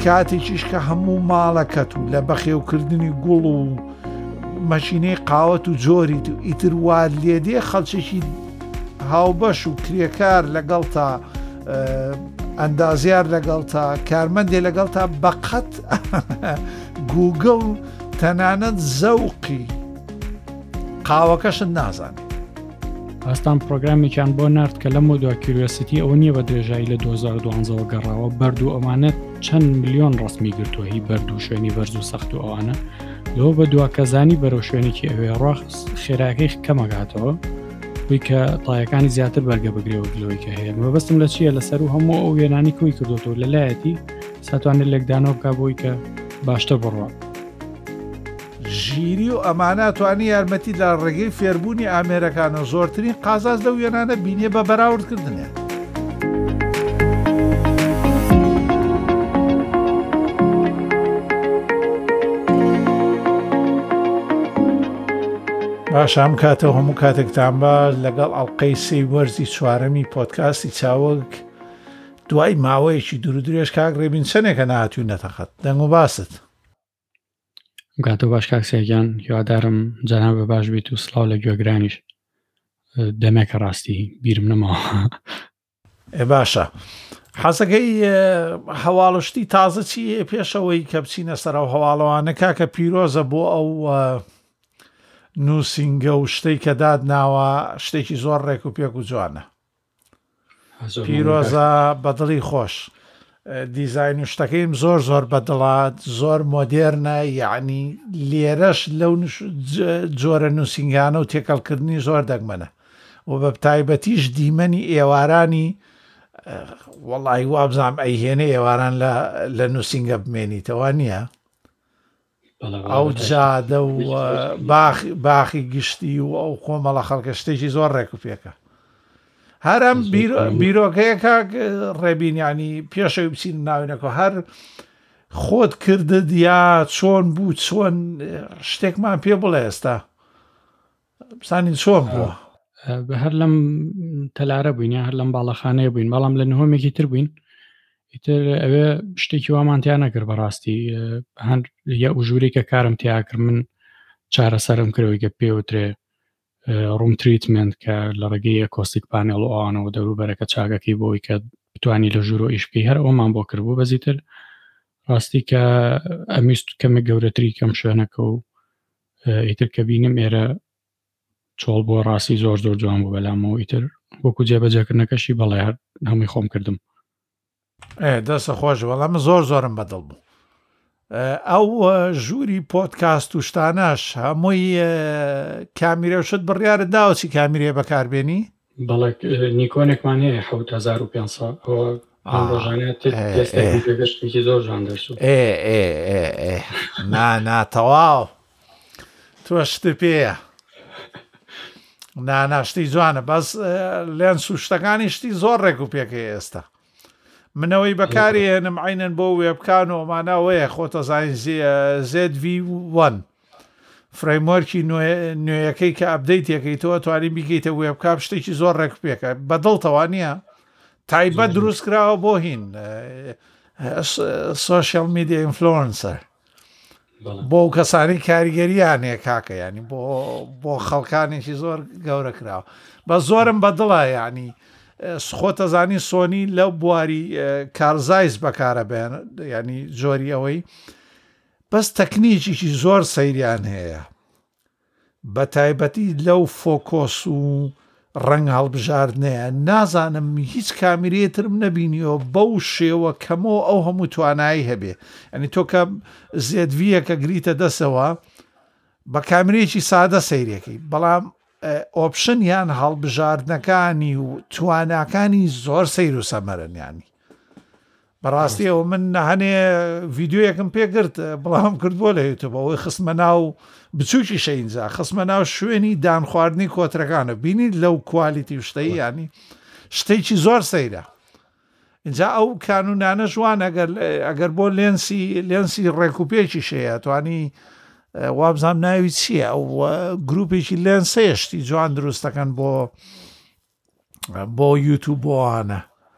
کاتێکیش کە هەموو ماڵەکەت و لە بەخێوکردنی گوڵ و مەشینەی قاوەت و جۆریت و ئیتر وار لێدێ خەڵکێکی هاوبەش و کرێکار لەگەڵ تا ئەندازیار لەگەڵ تا کارمەندێ لەگەڵ تا بەقەت گوگڵ تەنانەت زەوقی قاوەکەشت نازانێت. ئاستان پرۆگرامێکیان بۆ نرد کە لە مۆدووە کیوریۆسیتی ئەوە نییە بە درێژایی لە 2012 گەڕاوە بەرد و ئەمانەت چەند ملیۆن ڕستمی گرتووە هی بەرد و شوێنی بەرز و سەخت و ئەوانە لەوە بە دوواکەزانی بەرەو شوێنێکی ئەوێ ڕاخ خێراکەی کەمەگاتەوە بووی کە تایەکانی زیاتر بەرگە بگرێەوە گلەوەی کە هەیە مەبەستم لە چییە لەسەر و هەموو ئەو وێنانی کوی کردوەوە لەلایەتی ساتوانێت لێکدانەوە بکە بۆی کە باشتر بڕوە ژیری و ئەماناتوانی یارمەتی لە ڕێگەی فێربوونی ئامێرەکان و زۆرترین قازاز لەو وێنانە بینیە بە بەراوردکردنێ. باش ئەم کاتەوە هەموو کاتێکتان بە لەگەڵ ئەڵقەی سێی وەرزی چوارەمی پۆدکاستی چاوەک دوای ماوەیەکی دوورودرێژ کاک ڕێبین چەندێکە نهاتووینەتەقەت دەنگ و باست. گاتۆ باش کاکسێکیان هیوادارم جەناب بە باش بیت و سڵاو لە گوێگرانیش دەمێکە ڕاستی بیرم نەماوە. باشە حەزەکەی هەواڵشتی تازە چی پێشەوەی کە بچینە سەر ئەو هەواڵەوانە کاکە پیرۆزە بۆ ئەو نووسینگە و شتەی کە داد ناوە شتێکی زۆر ڕێک و پێک و جوانە. پیرۆزە بەدڵی خۆش دیزاین و شتەکەیم زۆر زۆر بەدڵات زۆر مۆدێرنە یعنی لێرەش لەو جۆرە نووسینگانە و تێکەڵکردنی زۆر دەگمەنە و بە تایبەتیش دیمەنی ئێوارانی وەڵی وابزانام ئەیهێنە ئێواران لە نووسینگە بمێنیتەوە نییە ئەو جادە و باخی گشتی و ئەو کۆمەڵە خەڵکە شتێکی زۆر ڕێک و پێکە هەرم بیرۆکەیە کاک ڕێبینیانی پێشەوی بچین ناوینەکە هەر خۆت کردت یا چۆن بوو چۆن شتێکمان پێ بڵێ ئێستا بسانی چۆن بووە هەر لەم تەلارە بووین هەر لەم باڵەخانەیە بووین بەڵام لە نهۆمێکی تر بووین ئیتر ئەوێ شتێکی وامانتیان نەکرد بەڕاستی هەند یا ئوژوری کە کارم تیا کرد من چارەسەرم کردەوەی کە پێوترێ ڕوم تریتمنت کە لە ڕێگەی ئەکۆستیک پانێڵ و ئەوانەوە دەوروبەرەکە چاگەکەی بۆی کە بتوانی لە ژوور و ئیش بکەی هەر ئەومان بۆ کردبوو بەزیتر ڕاستی کە ئەمیست کەمێک گەورەتری کەم شوێنەکە و ئیتر کە بینم ئێرە چۆڵ بۆ ڕاستی زۆر زۆر جوان بوو بەلامەوە ئیتر وەکو جێبەجێکردنەکەشی بەڵێ هەر هەمووی خۆم کردم دەستە خۆش بەڵام زۆر زۆرم بەدڵ بوو ئەو ژووری پۆدکاست و شتانەش هەمووی کامیرێشت بڕیارت داوەچی کامیرێ بەکاربێنی بەڵێ نیکۆنێکمان هەیە 7500 ڕۆژانێتی زۆر جوان دەرسوو تەواو تۆ شت پێیە ناشتی جوانە بەس لێنس و شتەکانی شتی زۆر ڕێک و پێکەیە ئێستا منەوەی بەکاری هێنم عینەن بۆ وێبکان و ئەمانەوەیە خۆتە زانین ZV1 فرەیموەرکی نوێیەکەی کە ئەپدەیتێکەی تۆ توانین بیکەیتە وێبکام شتێکی زۆر ڕێک پێکە بەدڵتەوە نییە تایبەت دروست کراوە بۆ هین سۆشیال میدیا ئینفلۆنسەر بۆ کەسانی کاریگەریانەیە کاکە ینی بۆ خەڵکانێکی زۆر گەورە کراوە بە زۆرم بەدڵە ینی خۆتە زانی سۆنی لەو بواری کارزایز بەکارە بێن ینی جۆری ئەوەی بەس تەکنیکیی زۆر سەیریان هەیە بە تایبەتی لەو فۆکۆس و ڕەنگ هەڵبژاردنەیە نازانم هیچ کامیرێترم نەبینیەوە بەو شێوە کەمەوە ئەو هەموو توانایی هەبێ ئەنی تۆ کە زێدڤیەکە گریتە دەسەوە بە کامیرێکی سادە سەیرەکەی بەڵام ئۆپشن یان هەڵبژاردنەکانی و تواناکانی زۆر سەیر و سەمەرنیانی بەڕاستیەوە من هەنێ ڤیددیویەکم پێگرت بەڵام کردبووە لە یوتیوب ئەوەی خستمە ناو بچووکی شەینجا خستمە ناو شوێنی دانخواردنی کۆترەکانە بینیت لەو کوالیتی شتەی ینی شتێکی زۆر سەیرە اینجا ئەو کانونانە جوان ئەگەر بۆ لێنسی ڕێکوپێکی شەیە توانی وابزانام ناوی چییە ئەو گروپێکی لێنسەیەشتی جوان دروستەکەن بۆ یوتیوب بۆوانە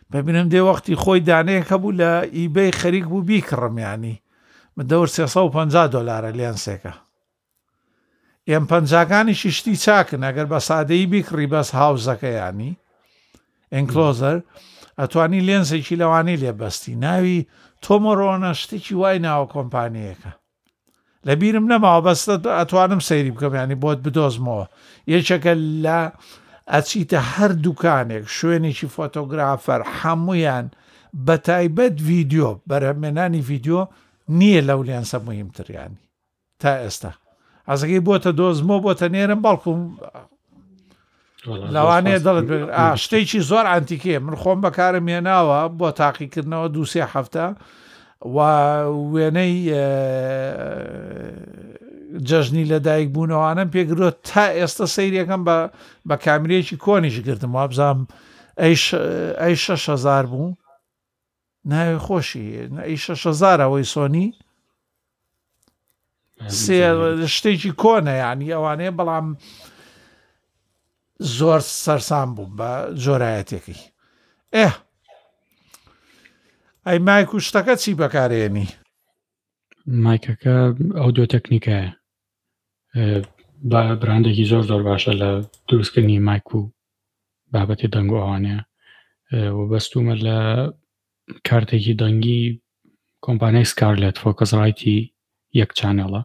ببینم دێ وەختی خۆی دانەیەکە بوو لە ئیبەی خەریک بوو بیکڕم یانی دەور $350 لێنسێکە ئێم پەنجاکانیشی شتی چاکن ئەگەر بە سادەیی بیکڕی بەس هاوزەکە ینی ئەنکلۆزەر ئەتوانی لێنسێکی لەوانەی لێبەستی ناوی تۆمۆڕۆنە شتێکی وای ناوە کۆمپانیەکە لە بیرم نەماوە بەستە ئەتوانم سەیری بکەم ینی بۆت بدۆزمەوە یەکێکە لە ئەچیتە هەر دوکانێک شوێنێکی فۆتۆگرافەر هەمویان بە تایبەت ڤیددیۆ بەرهەمێنانی ڤیددیۆ نییە لەو لێنسە مهمتریانی تا ئێستا ئەزەکەی بۆتە دۆزمەوە بۆتە نێرم بەڵکوم لەوانەیە دەڵت شتێکی زۆر ئەنتیکێ من خۆم بەکارم هێناوە بۆ تاقیکردنەوە 2-3 هەفتە و وێنەی جەژنی لەدایک بوونەوانم پێگرۆ تا ئێستا سەیرەکەم بە کامرێکی کۆنیش گرتم وابزانام ئەی 6,000 بوو ناوی خۆشی ئەی 6,000 ئەوەی سۆنی شتێکی کۆنە ینی ئەوانەیە بەڵام زۆر سەرسام بوو بە جۆرایەتێکی ئەی مایک و شتەکە چی بەکارێنی مایکەکە ئەو دو تەکنیکایە براندێکی زۆر باشە لە دروستکردنی مایک و بابەتی دەنگ و ئەوانەیە و بەستومە لە کارتێکی دەنگی کۆمپانیای سکارلێت فۆکەس ڕایتی یەک چانێڵە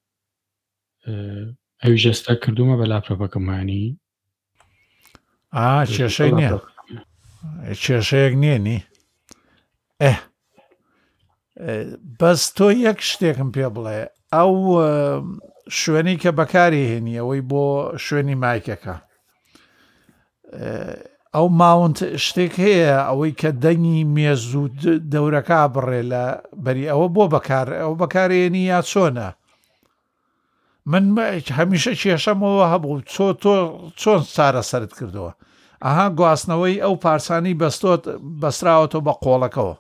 ئەوی ژێستا کردومە بە لاپتۆپەکەمانی کێشەی نییە کێشەیەک نییەنی بەس تۆ یەک شتێکم پێ بڵێ ئەو شوێنی کە بەکاری هێنی ئەوەی بۆ شوێنی مایکەکە ئەو ماونت شتێک هەیە ئەوەی کە دەنگی مێز و دەورەکە بڕێ لە بەری ئەوە بۆ بەکار ئەو بەکارێنی یا چۆنە من هەمیشە کێشەمەوە هەبوو چۆن چارە سەرت کردەوە ئەها گواستنەوەی ئەو پارچانی بەستراوەتەوە بە قۆڵەکەەوە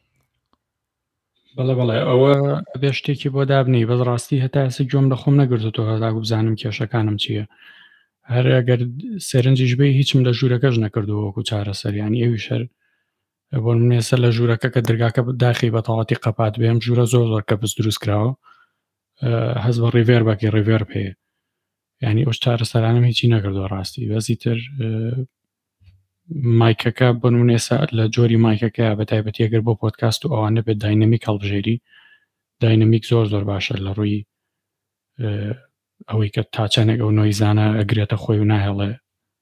بەڵێ ئەوە بێ شتێکی بۆ دابنی بەس ڕاستی هەتا ئێستا گوێم لە خۆم نەگرتەوە هەتاکو بزانم کێشەکانم چییە هەر ئەگەر سەرنجیش بێ هیچم لە ژوورەکەش نەکردووە وەکو چارەسەریانی ئەوی شەر بۆ منێسە لە ژوورەکە کە دەرگاکە داخی بە تەواتی قەپات بێم ژوورە زۆر کە بس دروست کراوە هەز بە ڕیڤێر باکی ڕیڤێر پێ ینی ئەو چارەسەرانم هیچی نەکردووە ڕاستی بەزی تر مایکەکە بۆ نمونێسە لە جۆری مایکەکە بە تایبەتی ئەگەر بۆ پۆدکاست و ئەوانە بێت داینەمیک هەڵبژێری داینەمیک زۆر باشە لە ڕووی ئەوەی کە تا چەندێک ئەو نۆیزانە ئەگرێتە خۆی و ناهێڵێ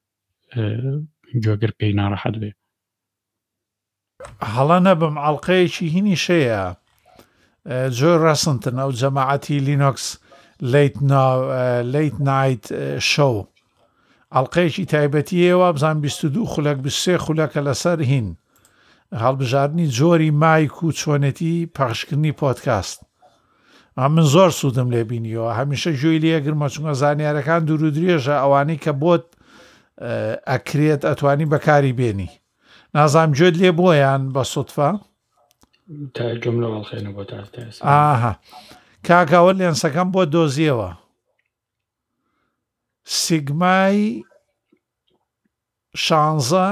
گوێگر پێی ناڕەحەت بێ هەڵە نەبم ئەڵلقەیەکی هینی شەیە جۆر ڕەسنتن ئەو جەماعەتی لینۆکس لیت نایت شەو ئەڵلقەیەکی تایبەتیەوە بزان 22 خولەک 23 خولەکە لەسەر هین هەڵبژاردننی جۆری مایک و چۆنێتی پەخشکردنی پۆدکاست من زۆر سوودم لێ بینیەوە هەمیشە گوێی لێگرمە چونکە زانیارەکان دوور و درێژە ئەوانەی کە بۆت ئەکرێت ئەتوانی بەکاری بێنی نازام گوێت لێ بۆیان بە سوتفە کاکەوە لێنسەکەم بۆ دۆزیەوە سیگمای 16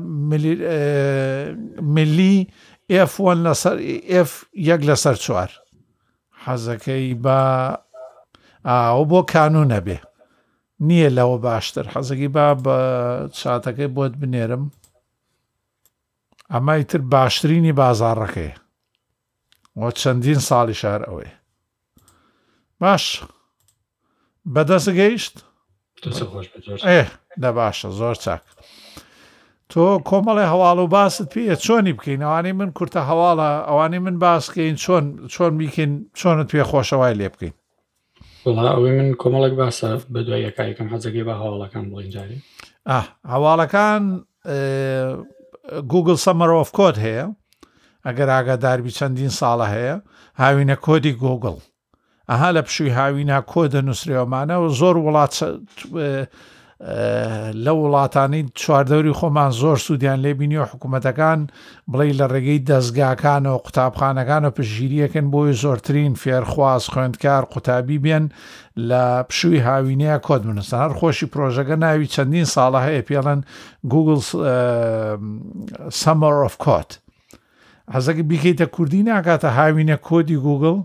ملی F1 لەسەر F1 لەسەر 4 حەزەکەی بە ئەو بۆ کانونە بێ نییە لەوە باشتر حەزەکەی بە چاتەکەی بۆت بنێرم ئەمای تر باشترینی بازاڕەکەی وە چەندین ساڵی شار ئەوەی باش بەدەست گەیشت لە باشە زۆر چاک تۆ کۆمەڵی هەواڵ و باست پێ چۆنی بکەین ئەوانەی من کورتە هەواڵە ئەوانەی من باسکەین چۆن بیکەین چۆنت پێ خۆشەوای لێ بکەین ئەوەی من کۆمەڵێک باسە بە دوای یەکایکەم حەزەکەی بە هەواڵەکان بڵین جاری هەواڵەکان گوگل سەمەر ئۆف کۆد هەیە ئەگەر ئاگاداربی چەندین ساڵە هەیە هاوینە کۆدی گوگل ئەها لە پشووی هاوینا کۆدە نووسراوەمانە و زۆر وڵات لە وڵاتانی چواردەوری خۆمان زۆر سوودیان لێبینی و حکوومەتەکان بڵێ لە ڕێگەی دەستگاکان و قوتابخانەکان و پشگیریەکەن بۆی زۆرترین فێرخواز خوێندکار قوتابی بێن لە پشووی هاوینەیە کۆد بنووسن. هەر خۆشی پرۆژەکە ناوی چەندین ساڵە هەیە پێڵەن گوگل سەمەر ئۆف کۆد. حەزەکە بیکەیتە کوردی ناکاتە هاوینە کۆدی گوگل؟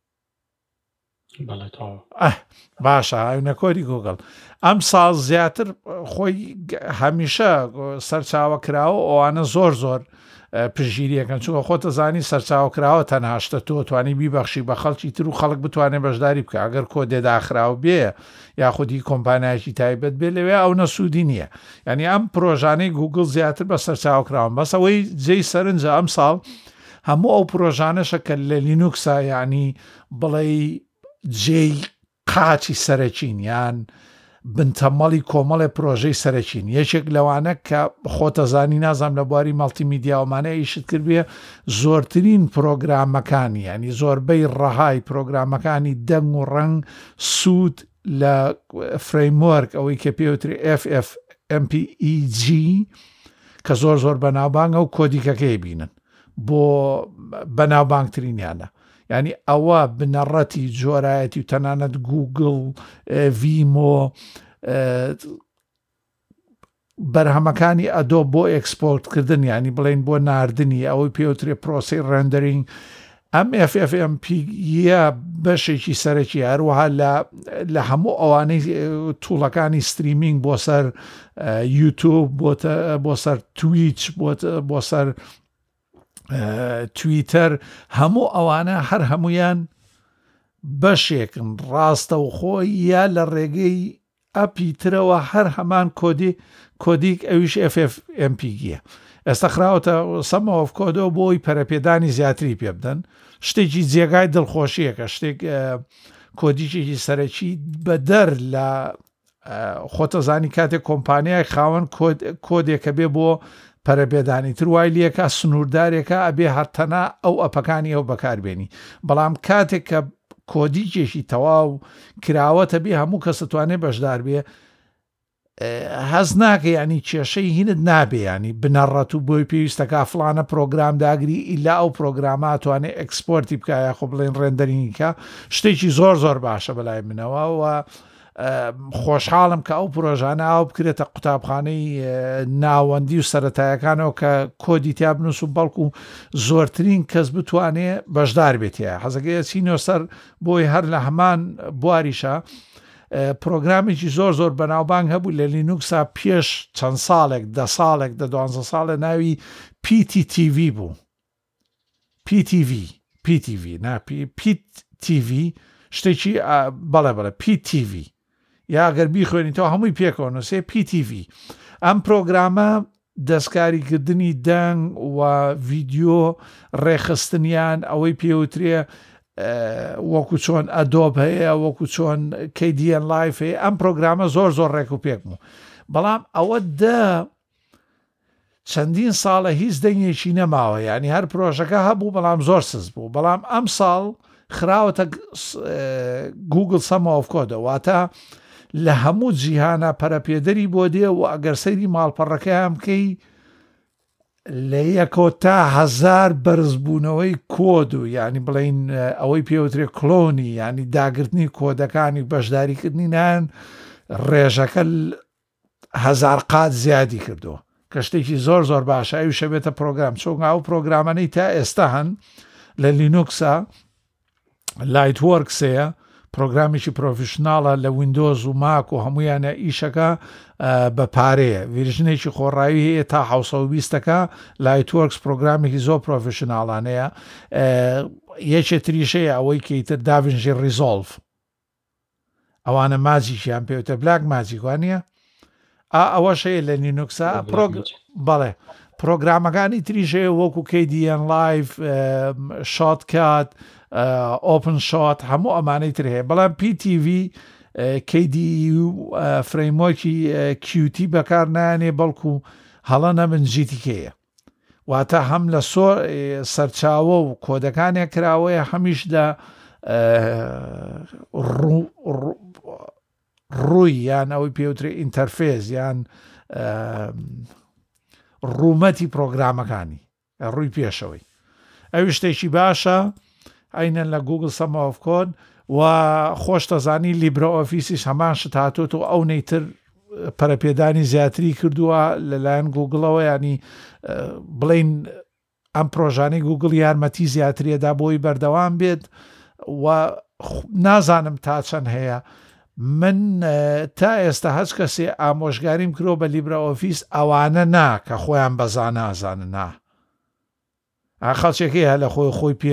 باشە، هاوینە کۆدی گوگل. ئەم ساڵ زیاتر خۆی هەمیشە سەرچاوە کراوە ئەوانە زۆر زۆر پشگیریەکەن، چونکە خۆتە زانی سەرچاو کراوە تەنهاشتە تۆ توانی بیبەخشی بە خەڵکی تر و خەڵک بتوانێت بەشداری بکە. ئەگەر کۆدێ داخراو بێ یاخودی کۆمپانیایکی تایبەت بێ لەوێ ئەو نەسوودی نییە. ینی ئەم پرۆژانەی گوگل زیاتر بە سەرچاو کراون، بەس ئەوەی جێی سەرنجە ئەم ساڵ هەموو ئەو پرۆژانەشە کە لە لینوکسا ینی بڵێ جێی قاچی سەرەکین یان بنتەمەڵی کۆمەڵی پرۆژەی سەرەکین. یەکێک لەوانە کە خۆتە زانی نازام لە بواری مەڵتیمیدیاومانە ئیشت کرد بێ زۆرترین پرۆگرامەکانی ینی زۆربەی ڕەهای پرۆگرامەکانی دەنگ و ڕەنگ سوود لە فرەیموەرک ئەوەی کە پێوتری FFmpeg کە زۆر زۆر بەناوبانگە و کۆدیکەکەی بینن بۆ بەناوبانگترینیانە. ینی ئەوە بنەڕەتی جۆرایەتی و تەنانەت گوگل ڤیمۆ بەرهەمەکانی ئەدۆ بۆ ئێکسپۆرتکردن ینی بڵێن بۆ ناردنی ئەوەی پێوترێ پرۆسی ڕێندەرینگ. ئەم FFmpegە بەشێکی سەرەکی هەروەها لە هەموو ئەوانەی تووڵەکانی ستریمینگ بۆ سەر یوتیوب بۆ سەر تویچ بۆ سەر تویتەر هەموو ئەوانە هەر هەمویان بەشێکن ڕاستە و خۆی یا لە ڕێگەی ئەپی ترەوە هەر هەمان کۆدیک ئەویش FFmpegە. ئێستا خراوەتە سەمە ئۆف کۆدەوە بۆی پەرەپێدانی زیاتری پێ بدەن. شتێکی جێگای دڵخۆشیەکە، شتێک کۆدیچێکی سەرەکی بە دەر لە خۆتەزانی کاتێک کۆمپانیای خاوەن کۆدێکە بێ بۆ پەرەپێدانی تر وای لێکە سنووردارێکە ئەبێ هەرتەنا ئەو ئەپەکانی ئەو بەکاربێنی. بەڵام کاتێک کە کۆدیچێکی تەواو کراوەتە بێ هەموو کەس توانێت بەشدار بێ هەز ناکە ینی کێشەی هینت نابێ ینی بنەڕەت و بۆی پێویستەکە فلانە پرۆگرام داگری ئیلا ئەو پرۆگرامە توانێت ئەکسپۆرتی بکایە خۆ بڵێن ڕێندەرینگکە شتێکی زۆر زۆر باشە بەلای منەوە و خۆشحاڵم کە ئەو پرۆژانە ئاو بکرێتە قوتابخانەی ناوەندی و سەرەتایەکانەوە کە کۆدی تیا بنووس و بەڵکو زۆرترین کەس بتوانێت بەشدار بێتە. حەزەکەی چینەوە سەر بۆی هەر لە هەمان بواریشە پرۆگرامێکی زۆر زۆر بەناوبانگ هەبوو لە لینوکسا پێش چەند ساڵێک 10 ساڵێک 12 ساڵە ناوی PTTV بوو. PTV شتێکی بەڵێ PTV یاگەر بیخوێنیتەوە هەمووی پێکەوە نووسێ PTV. ئەم پرۆگرامە دەستکاریکردنی دەنگ و ڤیدیۆ ڕێخستنیان ئەوەی پێوترێ وەکو چۆن ئەدۆب هەیە وەکو چۆن KDN Live هەیە. ئەم پرۆگرامە زۆر زۆر ڕێک و پێک بوو. بەڵام ئەوە چەندین ساڵە هیچ دەنگێکی نەماوە ینی هەر پرۆژەکە هەبوو بەڵام زۆر سز بوو. بەڵام ئەم ساڵ خراوەتە گوگل سەمە ئۆف کۆدە واتە لە هەموو جیهانە پەرەپێدەری بۆ دێ و ئەگەر سەیری ماڵپەڕەکەیان بکەی لە یەکۆ تا 1000 بەرزبوونەوەی کۆد و ینی بڵین ئەوەی پێوترێ کلۆنی ینی داگرتنی کۆدەکانی بەشداریکردنی نان ڕێژەکە 1000 قات زیادی کردووە کە شتێکی زۆر زۆر باشە. ئەوی شەبێتە پرۆگرام چۆن ئەو پرۆگرامانەی تا ئێستا هەن لە لینوکسا لایتوەرکسەیە پرۆگرامیکی پرۆفیشناڵە لە ویندۆز و ماک و هەمویانە ئیشەکە بە پارەیە ڤیرژنێکی خۆڕاوی هەیە تا 1920ەکە لایتوەرکس پرۆگرامێکی زۆر پرۆفیشناڵانەیە. یەکێتریشەیە ئەوەی کەیتر داڤینژی ریزۆڵڤ ئەوانە ماجیکیان پێوتە بلاک ماجیکوانە ئەوەشەیە لە لینوکسا بەڵێ پرۆگرامەکانی تریژەیە وەکو KDN Live شۆتکات ئۆپن شۆت هەموو ئەمانەی تر هەیە. بەڵام PTV KDE فرەیمۆرکی QT بەکار نایانێ بەڵکو هەڵەنە من GTKەیە واتە هەم لە سەرچاوە و کۆدەکانێک کراوەیە هەمیشدا ڕووی یان ئەوەی پێوترێ ئینتەرفێز یان ڕوومەتی پرۆگرامەکانی ڕووی پێشەوەی ئەوی شتێکی باشە ئەینەن لە گوگل سەما ئۆف کۆد و خۆش دەزانی لیبرە ئۆفیسیش هەمان شت هاتووە و ئەو نەیتر پەرەپێدانی زیاتری کردووە لەلایەن گوگڵەوە ینی بڵین ئەم پرۆژانەی گوگڵ یارمەتی زیاتریەدا بۆی بەردەوام بێت و نازانم تا چەند هەیە من تا ئێستا هەچ کەسێ ئامۆژگاریم کرۆ بە لیبرە ئۆفیس ئەوانە نا کە خۆیان بەزان نازانن نا خەڵچێکی هە لە خۆی پێ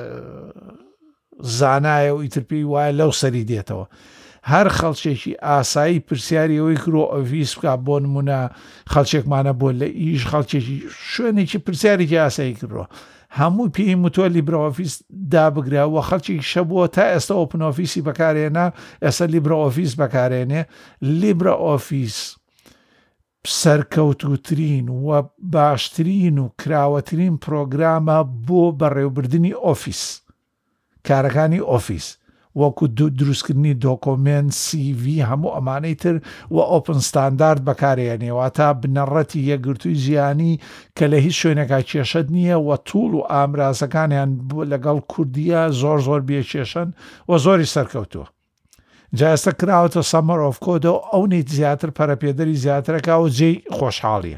زانایە و ئیتر پێی وایە لەو سەری دێتەوە هەر خەڵچێکی ئاسایی پرسیاری ئەوەی کرۆ ئۆفیس بکە بۆ نمونە خەڵچێکمانە بۆ لە ئیش خەڵکێکی شوێنێکی پرسیارێکی ئاسایی کردەوە هەموو پێی متۆ لیبرە ئۆفیس دابگراوە خەڵکی شەبووە تا ئێستا ئۆپن ئۆفیسی بەکارێنا ئێستا لیبرە ئۆفیس بەکارێنێ لیبرە ئۆفیس سەرکەوتوترین و باشترین و کراوەترین پرۆگرامە بۆ بەڕێوەبردننی ئۆفیس کارەکانی ئۆفیس وەکو دروستکردنی دۆکۆمنت CV هەموو ئەمانەی تر و ئۆپن ستاندارد بەکارێنێەوە تا بنەڕەتی یەکگرتووی ژیانی کە لە هیچ شوێنێکا کێشەت نییە و توول و ئامرازەکانیان لەگەڵ کوردیە زۆر بێکێشن و زۆری سەرکەوتووە جاستە کراوەتە سەمەر ئۆف کۆدە و ئەو نیت زیاتر پەرەپێدەری زیاترەکە و جێی خۆشحاڵیە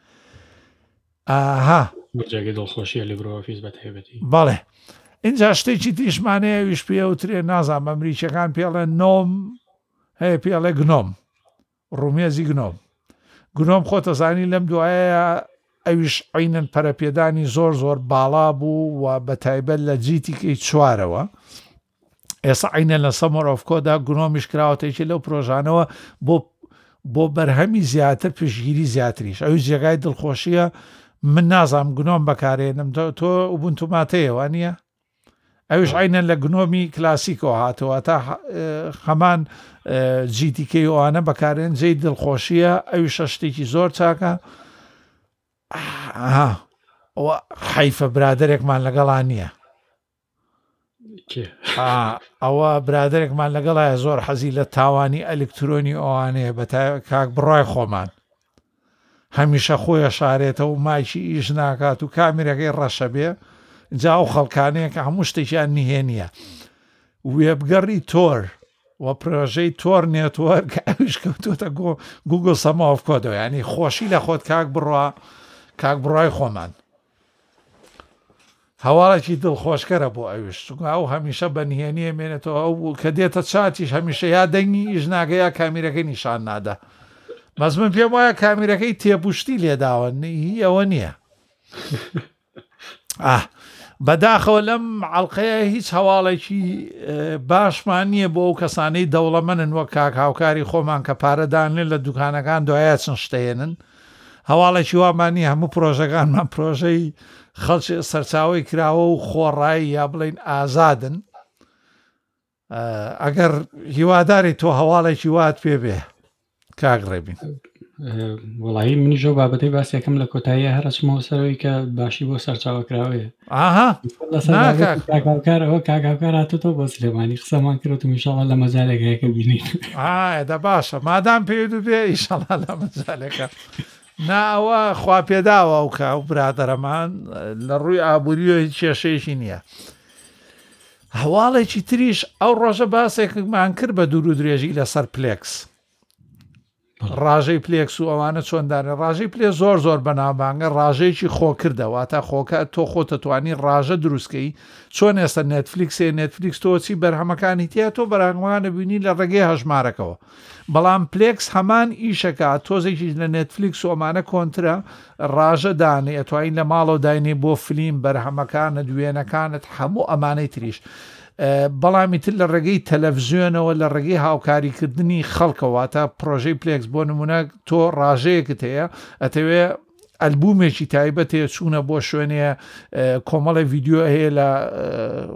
جێگەی دڵخۆشیە لیبرە ئۆفیس بەتایبەتی بەڵێ اینجا شتێکی تیشمانەیە ویش پێوترێ نازان ئەمریکیەکان پێڵێن نۆم هەیە پێڵێ گنۆم ڕومێزی گنۆم خۆتەزانی لەم دوایە ئەویش عینەن پەرەپێدانی زۆر باڵا بوو و بەتایبەت لە جیتیکەی چوارەوە ئێستا عینەن لە سەمەر ئۆف کۆدا گنۆمیش کراوەتێکی لەو پرۆژانەوە بۆ بەرهەمی زیاتر پشگیری زیاتریش ئەوی جێگای دڵخۆشیە من نازام گنۆم بەکارێنم تۆ ئوبونتو ماتەیەوە نییە ئەوش عینەن لە گنۆمی کلاسیکەوە هاتەوە تا هەمان جیتیکەی ئەوانە بەکارێن جێی دڵخۆشیە ئەوی شەشتێکی زۆر چاکە حیفە برادێکمان لەگەڵان نییە ئەوە برادێکمان لەگەڵایە زۆر حەزی لە تاوانی ئەلکترۆنی ئەوانەیە بە کاک بڕای خۆمان هەمیشە خۆیە شارێتە و مایکی ئیش ناکات و کامیرەکەی ڕەشە بێ جا ئەو خەڵکانەیە کە هەموو شتێکیان نهێنیە وێبگەڕی تۆر و پرۆژەی تۆر نێتوەرک ئەوش کەوتوتە گوگل سەما ئۆف کۆدەوە ینی خۆشی لە خۆت کاک بڕای خۆمان هەواڵێکی دڵخۆشکەرە بۆ ئەوش ئەو هەمیشە بە نهێنیە مێنێتەوە ئەو کە دێتە چاتیش هەمیشە یا دەنگی ئیش ناگەیە کامیرەکەی نیشان نادا بەس من پێم وایە کامیرەکەی تێپوشتی لێداوە ئەوە نییە بەداخەوە لەم عەڵقەیە هیچ هەواڵێکی باشمان نییە بۆ ئەو کەسانەی دەوڵەمەنن وەک کاک هاوکاری خۆمان کە پارەدانێن لە دوکانەکان دوایە چەند شتێنن هەواڵێکی وامان نییە هەموو پرۆژەکانمان پرۆژەی خەڵکی سەرچاوی کراوە و خۆڕایی یا بڵین ئازادن ئەگەر هیواداری تۆ هەواڵێکی وات پێ بێ کاک ڕێبین وڵایی منیژە بابەتەی باسیەکەم لە کۆتاییە هەرچمەوە سەرەوەی کە باشی بۆ سەرچاوەکراوەیە کاکاوکارەوە کاکاوکار هاتوتەوە بۆ سلێمانی قسەمان کرد و میشاڵە لە مەجالێکەکە بینین دە باشە مادام پێ بێ ئیشەڵا لە مەجالێکە ناوە خوا پێداوە و کا و برادەرەمان لە ڕووی ئابوووریۆ هیچ کێشەیەکی نییە هەواڵێکی تریش ئەو ڕۆژە باسێکمان کرد بە دوور و درێژی لەسەر پلێکس ڕاژەی پلێکس و ئەوانە چۆندانە ڕاژەی پلێ زۆر بەناوبانگە ڕاژەیەکی خۆکردەوە تا خۆکە تۆ خۆتەتوانی ڕاژە دروستکەی چۆن ئێستا نێتفلیکس تۆچی بەرهەمەکانی تیا تۆ بەرهەمەکانە بینی لە ڕێگەی هەژمارەکەەوە بەڵام پلێکس هەمان ئیشەکە تۆزێکی لە نێتفلیکس و ئەمانە کۆنترە ڕاژە دانێ ئەتوانین لە ماڵەوە داینێ بۆ فلیم بەرهەمەکانت دوێنەکانت هەموو ئەمانەی تریش بەڵامی تر لە ڕێگەی تەلەڤزیۆنەوە لە ڕێگەی هاوکاریکردنی خەڵکەوە تا پرۆژەی پلێکس بۆ نمونە تۆ ڕاژەیەکت هەیە ئەتەوێ ئەلبومێکی تایبەت هەیە چوونە بۆ شوێنێ کۆمەڵی ڤیددیۆ هەیە لە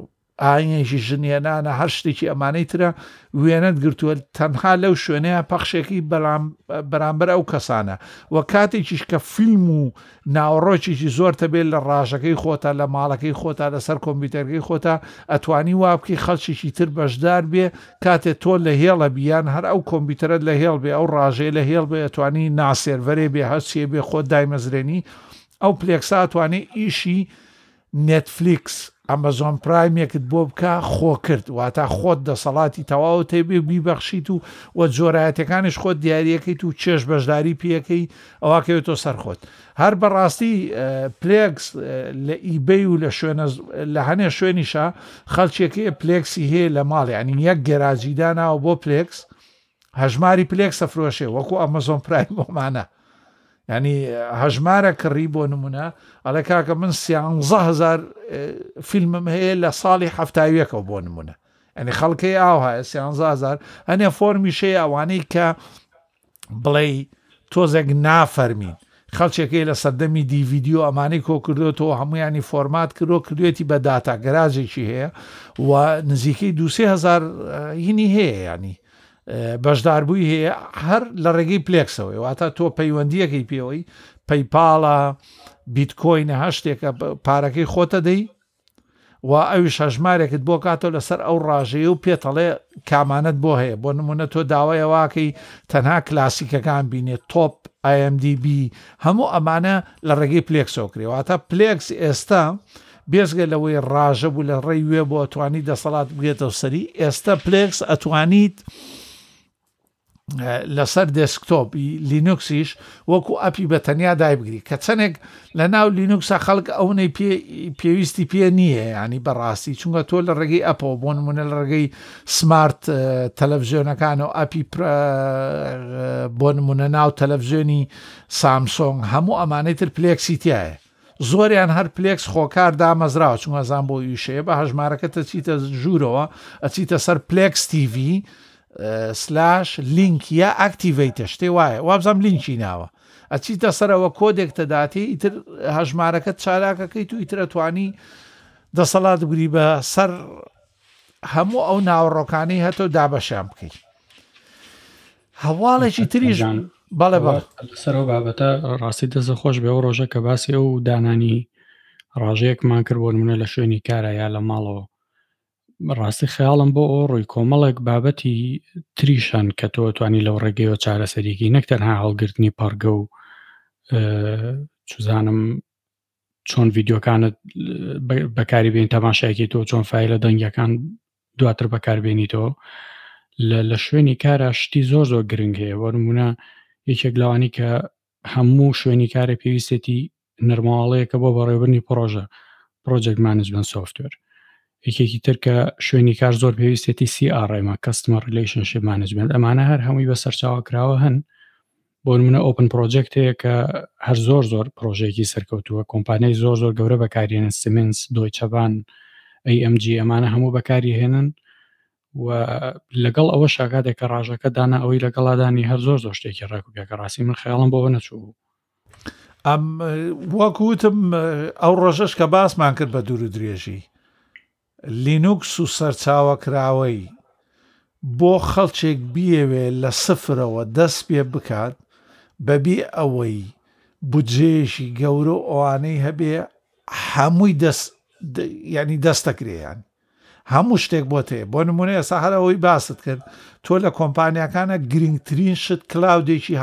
ئاینێکی ژنێنانە هەر شتێکی ئەمانەی ترە وێنەت گرتووە تەنها لەو شوێنەیە پەخشێکی بەرامبەر ئەو کەسانە و کاتێکیش کە فیلم و ناوەڕۆکێکی زۆرتە بێت لە ڕاژەکەی خۆتە لە ماڵەکەی خۆتا لەسەر کۆمپیوتەرگەی خۆتا ئەتوانی وا بکەی خەڵکیشی تر بەشدار بێ کاتێک تۆ لە هێڵە بیان هەر ئەو کۆمپیوتەرت لە هێڵ بێ ئەو ڕاژەیە لە هێڵ بێ ئەتوانی ناسێرڤەرێ بێ هەچیە بێ خۆت دایمەزرێنی ئەو پلێکسا ئەتوانێت ئیشی نێتفلیکس ئەمەزۆن پرایمێکت بۆ بکە خۆ کرد واتە خۆت دەسەڵاتی تەواو تێبێ بیبەخشیت و جۆرایەتەکانش خۆت دیاریەکەیت و چێژ بەشداری پێەکەی ئەوواکەوێتۆ سەرخۆت هەر بەڕاستی پلێکس لە ئیبەی و لە هەنێ شوێنیشە خەڵکێکی پلێکسی هەیە لە ماڵ ینی یەک گەراجیداناوە بۆ پلێکس هەژماری پلێکسە فرۆشێ وەکو ئەمەزۆن پرایم بۆمانە ینی هەژمارە کڕی بۆ نمونە ئەڵێ کاکە من 11,000 فیلمم هەیە لە ساڵی هەفتاویەکەوە بۆ نمونە ئەنی خەڵکەی ئاوهایە 11,000 هەنێ فۆرمیشەیە ئەوانەی کە بڵێ تۆزێک نافەرمین خەڵکێکی لە سەردەمی دیڤیدیۆ ئەمانەی کۆ کردوێتەوە هەمویانی فۆرمات کردوێتی بە داتا گەراجێکی هەیە و نزیکەی 2,000 هینی هەیە ینی بەشداربووی هەیە هەر لە ڕێگەی پلێکسەوەی واتە تۆ پەیوەندیەکەی پێوەی پەیپاڵە بیتکۆینە هەشتێکە پارەکەی خۆتە دەی و ئەویش هەژمارێکت بۆ کاتۆ لەسەر ئەو ڕاژەیە و پێتەڵێ کامانت بۆ هەیە بۆ نمونە تۆ داوایەواکەی تەنها کلاسیکەکان بینێت تۆپ IMDb هەموو ئەمانە لە ڕێگەی پلێکسەوە کرێواتە پلێکس ئێستا بێزگە لەوەی ڕاژە بوو لە ڕێی وێ بۆ ئەتوانی دەسەڵات بگێتەوە سەری ئێستا پلێکس ئەتوانیت لەسەر دێسکتۆپی لینوکسیش وەکو ئەپی بە تەنیا دایبگری کە چەندێک لە ناو لینوکسە خەڵک ئەوەی پێویستی پێ نییە ینی بەڕاستی چونکە تۆ لە ڕێگەی ئەپەوە بۆ نمونە لە ڕێگەی سمارت تەلەڤیزیۆنەکان و ئەپی بۆ نمونە ناو تەلەڤیزیۆنی سامسۆنگ هەموو ئەمانەی تر پلێکسی تایە زۆریان هەر پلێکس خۆکار دامەزراوە چونکە زان بۆ یوشەیە بە هەژمارەکەتە چیتە ژوورەوە ئەچیتە سەر پلێکس TV لینک یا ئاکتیڤیتە شتێ وایە وابزانام لینکی ناوە ئەچیتە سەرەوە کۆدێک تەداتی ئیتر هەژمارەکەت چالاکەکەیت و ئیترە توانی دەسەڵات بگری بە سەر هەموو ئەو ناوەڕۆکانەی هەتۆ دابەشیان بکەیت هەواڵێکی تریژ بەڵێ سەرەوە بابەتە ڕاستی دەزە خۆش بێ ئەو ڕۆژە کە باسی ئەو دانانی ڕاژەیەکمان کرد بۆ نمونە لە شوێنی کارە یا لە ماڵەوە ڕاستی خەیاڵم بۆ ئەو ڕووی کۆمەڵێک بابەتی تریشان کە تۆ توانی لەو ڕێگەیەوە چارەسەریکی نەک تەنها هەڵگرتنی پەرگە و چزانم چۆن ڤیددیۆکانت بەکاری بێن تەماشایەکی تۆ چۆن فایلە دەنگەکان دواتر بەکاربێنیتەوە لە شوێنی کارە شتی زۆر زۆر گرنگ هەیە بۆ نمونە یەکێک لەوانی کە هەموو شوێنی کارە پێویستێتی نەرماڵەیەکە بۆ بەڕێوەبردنی پرۆژە پرۆجێکت مانجمنت سۆفتوێر یەکێکی تر کە شوێنی کار زۆر پێویستێتی CRM کەستمەر ریلیشنشیپ مانجمنت ئەمانە هەر هەمووی بە سەرچاوە کراوە هەن بۆ نمونە ئۆپن پرۆجێکت هەیە کە هەر زۆر زۆر پرۆژێکی سەرکەوتووە کۆمپانیای زۆر زۆر گەورە بەکارهێنن سیمنس دۆیچە بان AMG ئەمانە هەموو بەکاری هێنن و لەگەڵ ئەوە شاکاتێک کە ڕاژەکە دانا ئەوەی لەگەڵادانی هەر زۆر زۆر شتێکی ڕاکوبیەکە ڕاستی من خەیاڵم بۆ نەچوو ئەم وەکوتم ئەو ڕۆژەش کە باسمان کرد بە دوور و درێژی لینوکس و سەرچاوەکراوەی بۆ خەڵکێک بیەوێ لە سفرەوە دەست پێ بکات بەبێ ئەوەی بودجێشی گەورە ئەوانەی هەبێ هەمووی ینی دەستەکرێیان هەموو شتێک بۆ تێ بۆ نمونە ئێستا هەرەوەی باست کرد تۆ لە کۆمپانیەکانە گرنگترین شت کلااودێکی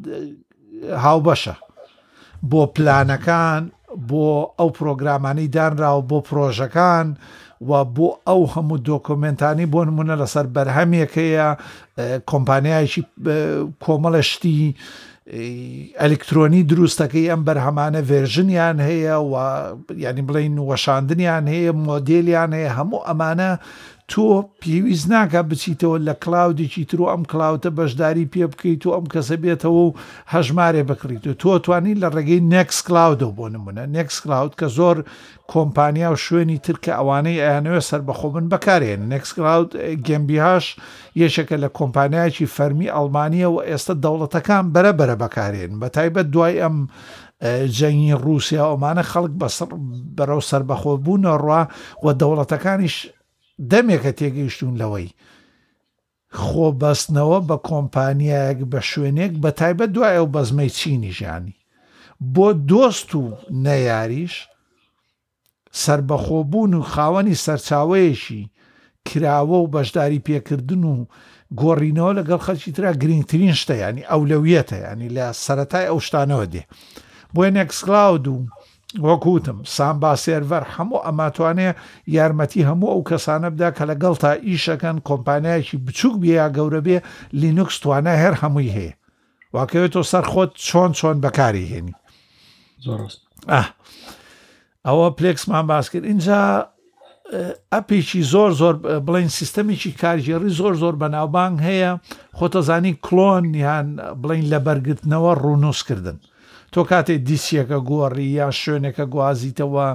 هاوبەشە بۆ پلانەکان بۆ ئەو پرۆگرامانەی دانراوە بۆ پرۆژەکان و بۆ ئەو هەموو دۆکۆمنتانی بۆ نمونە لەسەر بەرهەمێکەیە کۆمپانیایکی کۆمەڵشتی ئەلکترۆنی دروستەکەی ئەم بەرهەمانە ڤێرژنیان هەیە و ینی بڵین وەشاندنیان هەیە مۆدێلیان هەیە هەموو ئەمانە تۆ پێویست ناکە بچیتەوە لە کلااودێکی تر و ئەم کلااوتە بەشداری پێ بکەیت و ئەم کەسە بێتەوە و هەژمارێ بکڕیت و تۆ توانی لە ڕێگەی نێکس کلااودە بۆ نمونە نێکس کلااود کە زۆر کۆمپانیا و شوێنی تر کە ئەوانەی ئەیانەوێ سەربەخۆ بن بەکارێن نێکس کلااود گەمبیهاش یەشێکە لە کۆمپانیایکی فەرمی ئەڵمانیە و ئێستا دەوڵەتەکان بەرەبەرە بەکارێن بە تایبەت دوای ئەم جەنگی رووسیا ئەومانە خەڵک بەرەو سەربەخۆ بوونە ڕوا و دەوڵەتەکانیش دەمێکە تێگەیشتون لەوەی خۆ بەستنەوە بە کۆمپانیایەک بە شوێنێک بە تایبەت دوای ئەو بەزمەی چینی ژانی بۆ دۆست و نەیاریش سربەخۆبوون و خاوەنی سەرچاوەیەشی کراوە و بەشداری پێکردن و گۆڕینەوە لەگەڵ خەڵکی ترا گرنگترین شتە ینی ئەولەویەتە ینی لە سەرەتای ئەو شتانەوە دێ بۆیە نێکسکلاود و وەکوتم سامبا سێرڤەر هەموو ئەماتوانێ یارمەتی هەموو ئەو کەسانە بدا کە لەگەڵ تا ئیشەکەن کۆمپانیایکی بچووک بێ یا گەورە بێ لینوکس توانای هەر هەمووی هەیە واکەوێتەوە سەر خۆت چۆن بەکاری هێنی ئەوە پلێکسمان باس کرد اینجا ئەپێکی زۆر بڵین سیستەمێکی کارژێڕی زۆر بەناوبانگ هەیە خۆتەزانی کلۆن یان بڵین لە بەرگرتنەوە ڕوونوسکردن تۆ کاتێک دیسیەکە گۆڕی یا شوێنێکە گوازیتەوە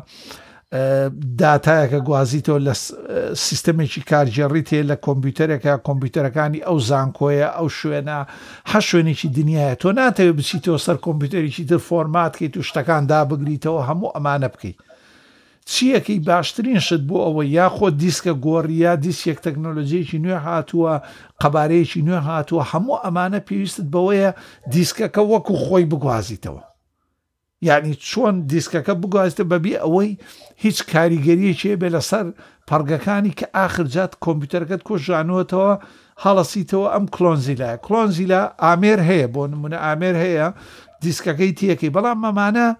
داتایەکە گوازیتەوە لە سیستەمێکی کارژێڕیت هەیە لە کۆمپیوتەرێکە کۆمپیوتەرەکانی ئەو زانکۆیە ئەو شوێنە هە شوێنێکی دنیاە تۆ ناتەوێت بچیتەوە سەر کۆمپیوتەرێکی تر فۆرماتکەیت و شتەکان دابگریتەوە هەموو ئەمانە بکەیت چیەکەی باشترین شت بۆ ئەوە یاخۆ دیسکە گۆڕیا دیسێک تەکنۆلۆژیەکی نوێ هاتووە قەبارەیەکی نوێ هاتووە هەموو ئەمانە پێویستت بەوەیە دیسکەکە وەکو خۆی بگوازیتەوە یعنی چۆن دیسکەکە بگوازیتە بەبێ ئەوەی هیچ کاریگەریەکێ بێ لەسەر پەرگەکانی کە ئاخرجات کۆمپیوتەرەکەت کۆژانوەتەوە هەڵەسیتەوە ئەم کلۆنزیلا ئامێر هەیە بۆ نمونە ئامێر هەیە دیسکەکەی تیەکەی بەڵام مەمانە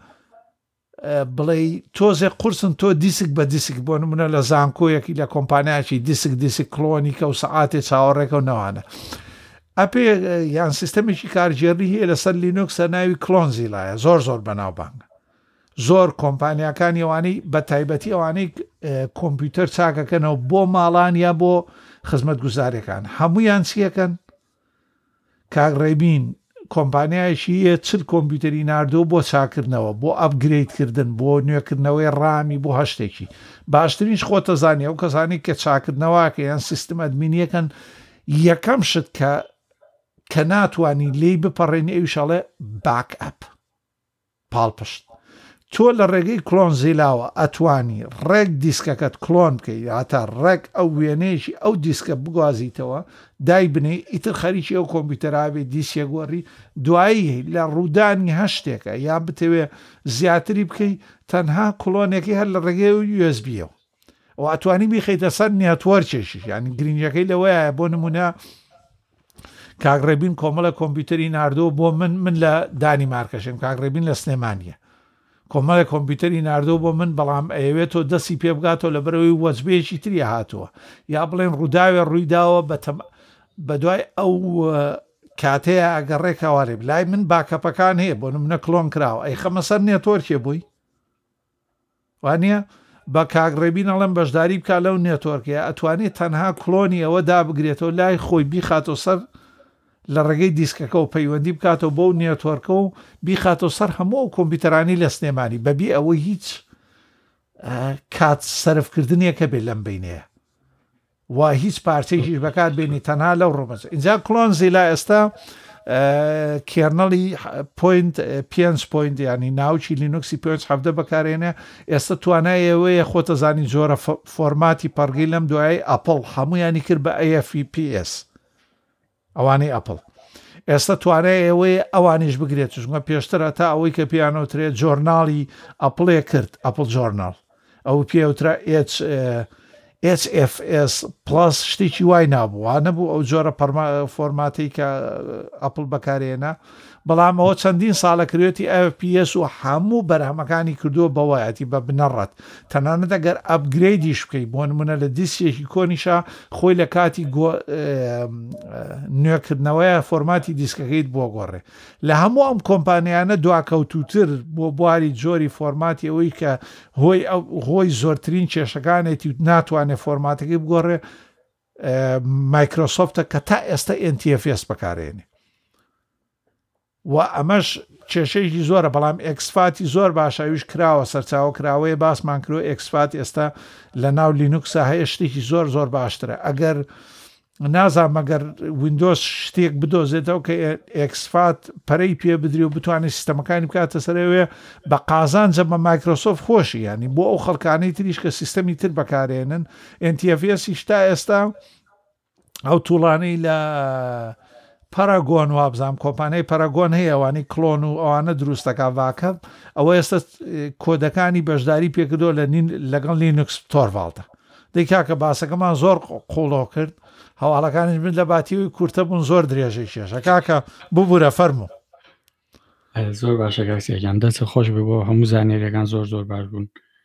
بڵێ تۆزێک قورسن تۆ دیسک بە دیسک بۆ نمونە لە زانکۆیەکی لە کۆمپانیاکی دیسک کلۆنیکە و سەعاتێ چاوەڕێکە و نەوانە ئەپێ یان سیستەمێکی کارژێڕی هەیە لەسەر لینوکسە ناوی کلۆنزیلایە زۆر بەناوبانگە زۆر کۆمپانیەکانی ئەوانەی بە تایبەتی ئەوانەی کۆمپیوتەر چاکەکەنەوە بۆ ماڵان یا بۆ خزمەت گوزاریەکان هەمویان چیەکەن کاگڕێبین کۆمپانیایشی چل کۆمپیوتەری نردووە بۆ چاکردنەوە بۆ ئەپگرێدکردن بۆ نوێکردنەوەی ڕامی بۆ هەشتێکی باشترینش خۆتە زانانی ئەو کەسانی کە چاکردنەوەکە یان سیستم ئەدمینیەکەن یەکەم شت کە ناتوانانی لی بپەڕێنی ئەویشەڵێ باک ئەپ پاڵپشت تۆ لە ڕێگەی کلۆنزیلاوە ئەتوانی ڕێک دیسکەکەت کلۆن بکەیت هاتە ڕێک ئەو وێنەیەشی ئەو دیسکە بگوازیتەوە دای بنێ ئیتر خەریکی ئەو کۆمپیوتەرابێ دیسیە گۆڕی دوایی لە ڕوودانی هەشتێکە یان بتەوێ زیاتری بکەیت تەنها کلۆنێکی هەر لە ڕێگەی USB-ەوە ئەو ئەتوانی بیخەیتە سەر نێتوەرکێکی ینی گرنگەکەی لەوەیە بۆ نمونە کاگڕێبین کۆمەڵە کۆمپیوتەری نردووە بۆ من لە دانیمارکەشم کاگڕێبین لە سلێمانیە کۆمەڵە کۆمپیوتەری نردووە بۆ من بەڵام ئەوێتەوە دەستی پێ بگاتەوە لە بەرەوەی وەزبێکی تری هاتووە یا بڵێن ڕووداوێ ڕوویداوە بە دوای ئەو کاتەیە ئەگەڕێکەوارێ لای من باکەپەکان هەیە بۆ منە کلۆن کراوە ئەی خەمە سەر نێتۆرکێ بووی وانە بە کاگڕێبین ئەڵێم بەشداری بکە لەو نێتۆرکەیە ئەتوانێت تەنها کلۆنی ئەوە دابگرێتەوە لای خۆی بیخاتۆ سەر لە ڕێگەی دیسکەکە و پەیوەندی بکاتەوە بۆ نێتۆرکە و بیخاتەوە سەر هەموو ئەو کۆمپیوتەرانی لە سلێمانی بەبێ ئەوەی هیچ کات سەرفکردنیەکە بێت لەم بینەیە و هیچ پارچەیەکیش بەکات بێنی تەنها لەو ڕۆمەچ اینجا کلۆنزیلا ئێستا کێرنەڵی پۆینت ینی ناوچی لینوکسی پێنج هەفتە بەکارێنێ ئێستا توانایەوەیە خۆتە زانی جۆرە فۆرماتی پەرگی لەم دوای ئەپڵ هەمویانی کرد بە AFPS ئەوانەی ئەپڵ ئێستا توانای ئێوەیە ئەوانیش بگرێت چونکە پێشترە تا ئەوەی کە پیانۆترێت جۆرناڵی ئەپڵێ کرد ئەپڵ جۆرناڵ ئەو پێوترا HFS پلس شتێکی وای نابووە نەبوو ئەو جۆرە فۆرماتی کە ئەپڵ بەکارێنە بەڵام ئەوە چەندین ساڵە کروێتی FPS و هەموو بەرهەمەکانی کردووە بەوایەتی بە بنەڕەت تەنانەت ئەگەر ئەپگرێدیش بکەیت بۆ نمونە لە دیسیەکی کۆنیشە خۆی لە کاتی نوێکردنەوەیە فۆرماتی دیسکەکەیت بۆ گۆڕێ لە هەموو ئەم کۆمپانیانە دواکەوتوتر بۆ بواری جۆری فۆرماتی ئەوەی کە هۆی زۆرترین کێشەکانێتی ناتوانێت فۆرماتەکەی بگۆڕێ مایکرۆسۆفتە کە تا ئێستا NTFS بەکارێنێ و ئەمەش کێشەیەکی زۆرە بەڵام ئەکسفاتی زۆر باشەویش کراوە سەرچاوە کراوەیە باسمان کرۆ ئەکسفات ئێستا لە ناو لینوکسە هەیە شتێکی زۆر باشترە ئەگەر نازان مەگەر وینندۆز شتێک بدۆزێتەوە کە ئەکسفات پەرەی پێ بدری و بتوانێت سیستەمەکانی بکاتە سەرەوێ بە قازانجە بە مایکرۆسۆفت خۆشی ینی بۆ ئەو خەڵکانەی تریش کە سیستەمی تر بەکارێنن NTFS تا ئێستا ئەو تووڵانەی لە پەراگۆن وابزانام کۆمپانیای پەراگۆن هەیە ئەوانەی کلۆن و ئەوانە دروستەکە ڤاکە ئەوە ئێستا کۆدەکانی بەشداری پێکردۆ لەگەڵ لینوکس تۆرڤالتە دەیکا کە باسەکەمان زۆر قوڵۆ کرد هەواڵەکانش من لە باتیوی کورتە بوون زۆر درێژەی کێشە کاکە ببوورە فەرموو زۆر باشە کاکسیان دەست خۆش بوو بۆ هەموو زانێریەکان زۆر زۆر باش بوون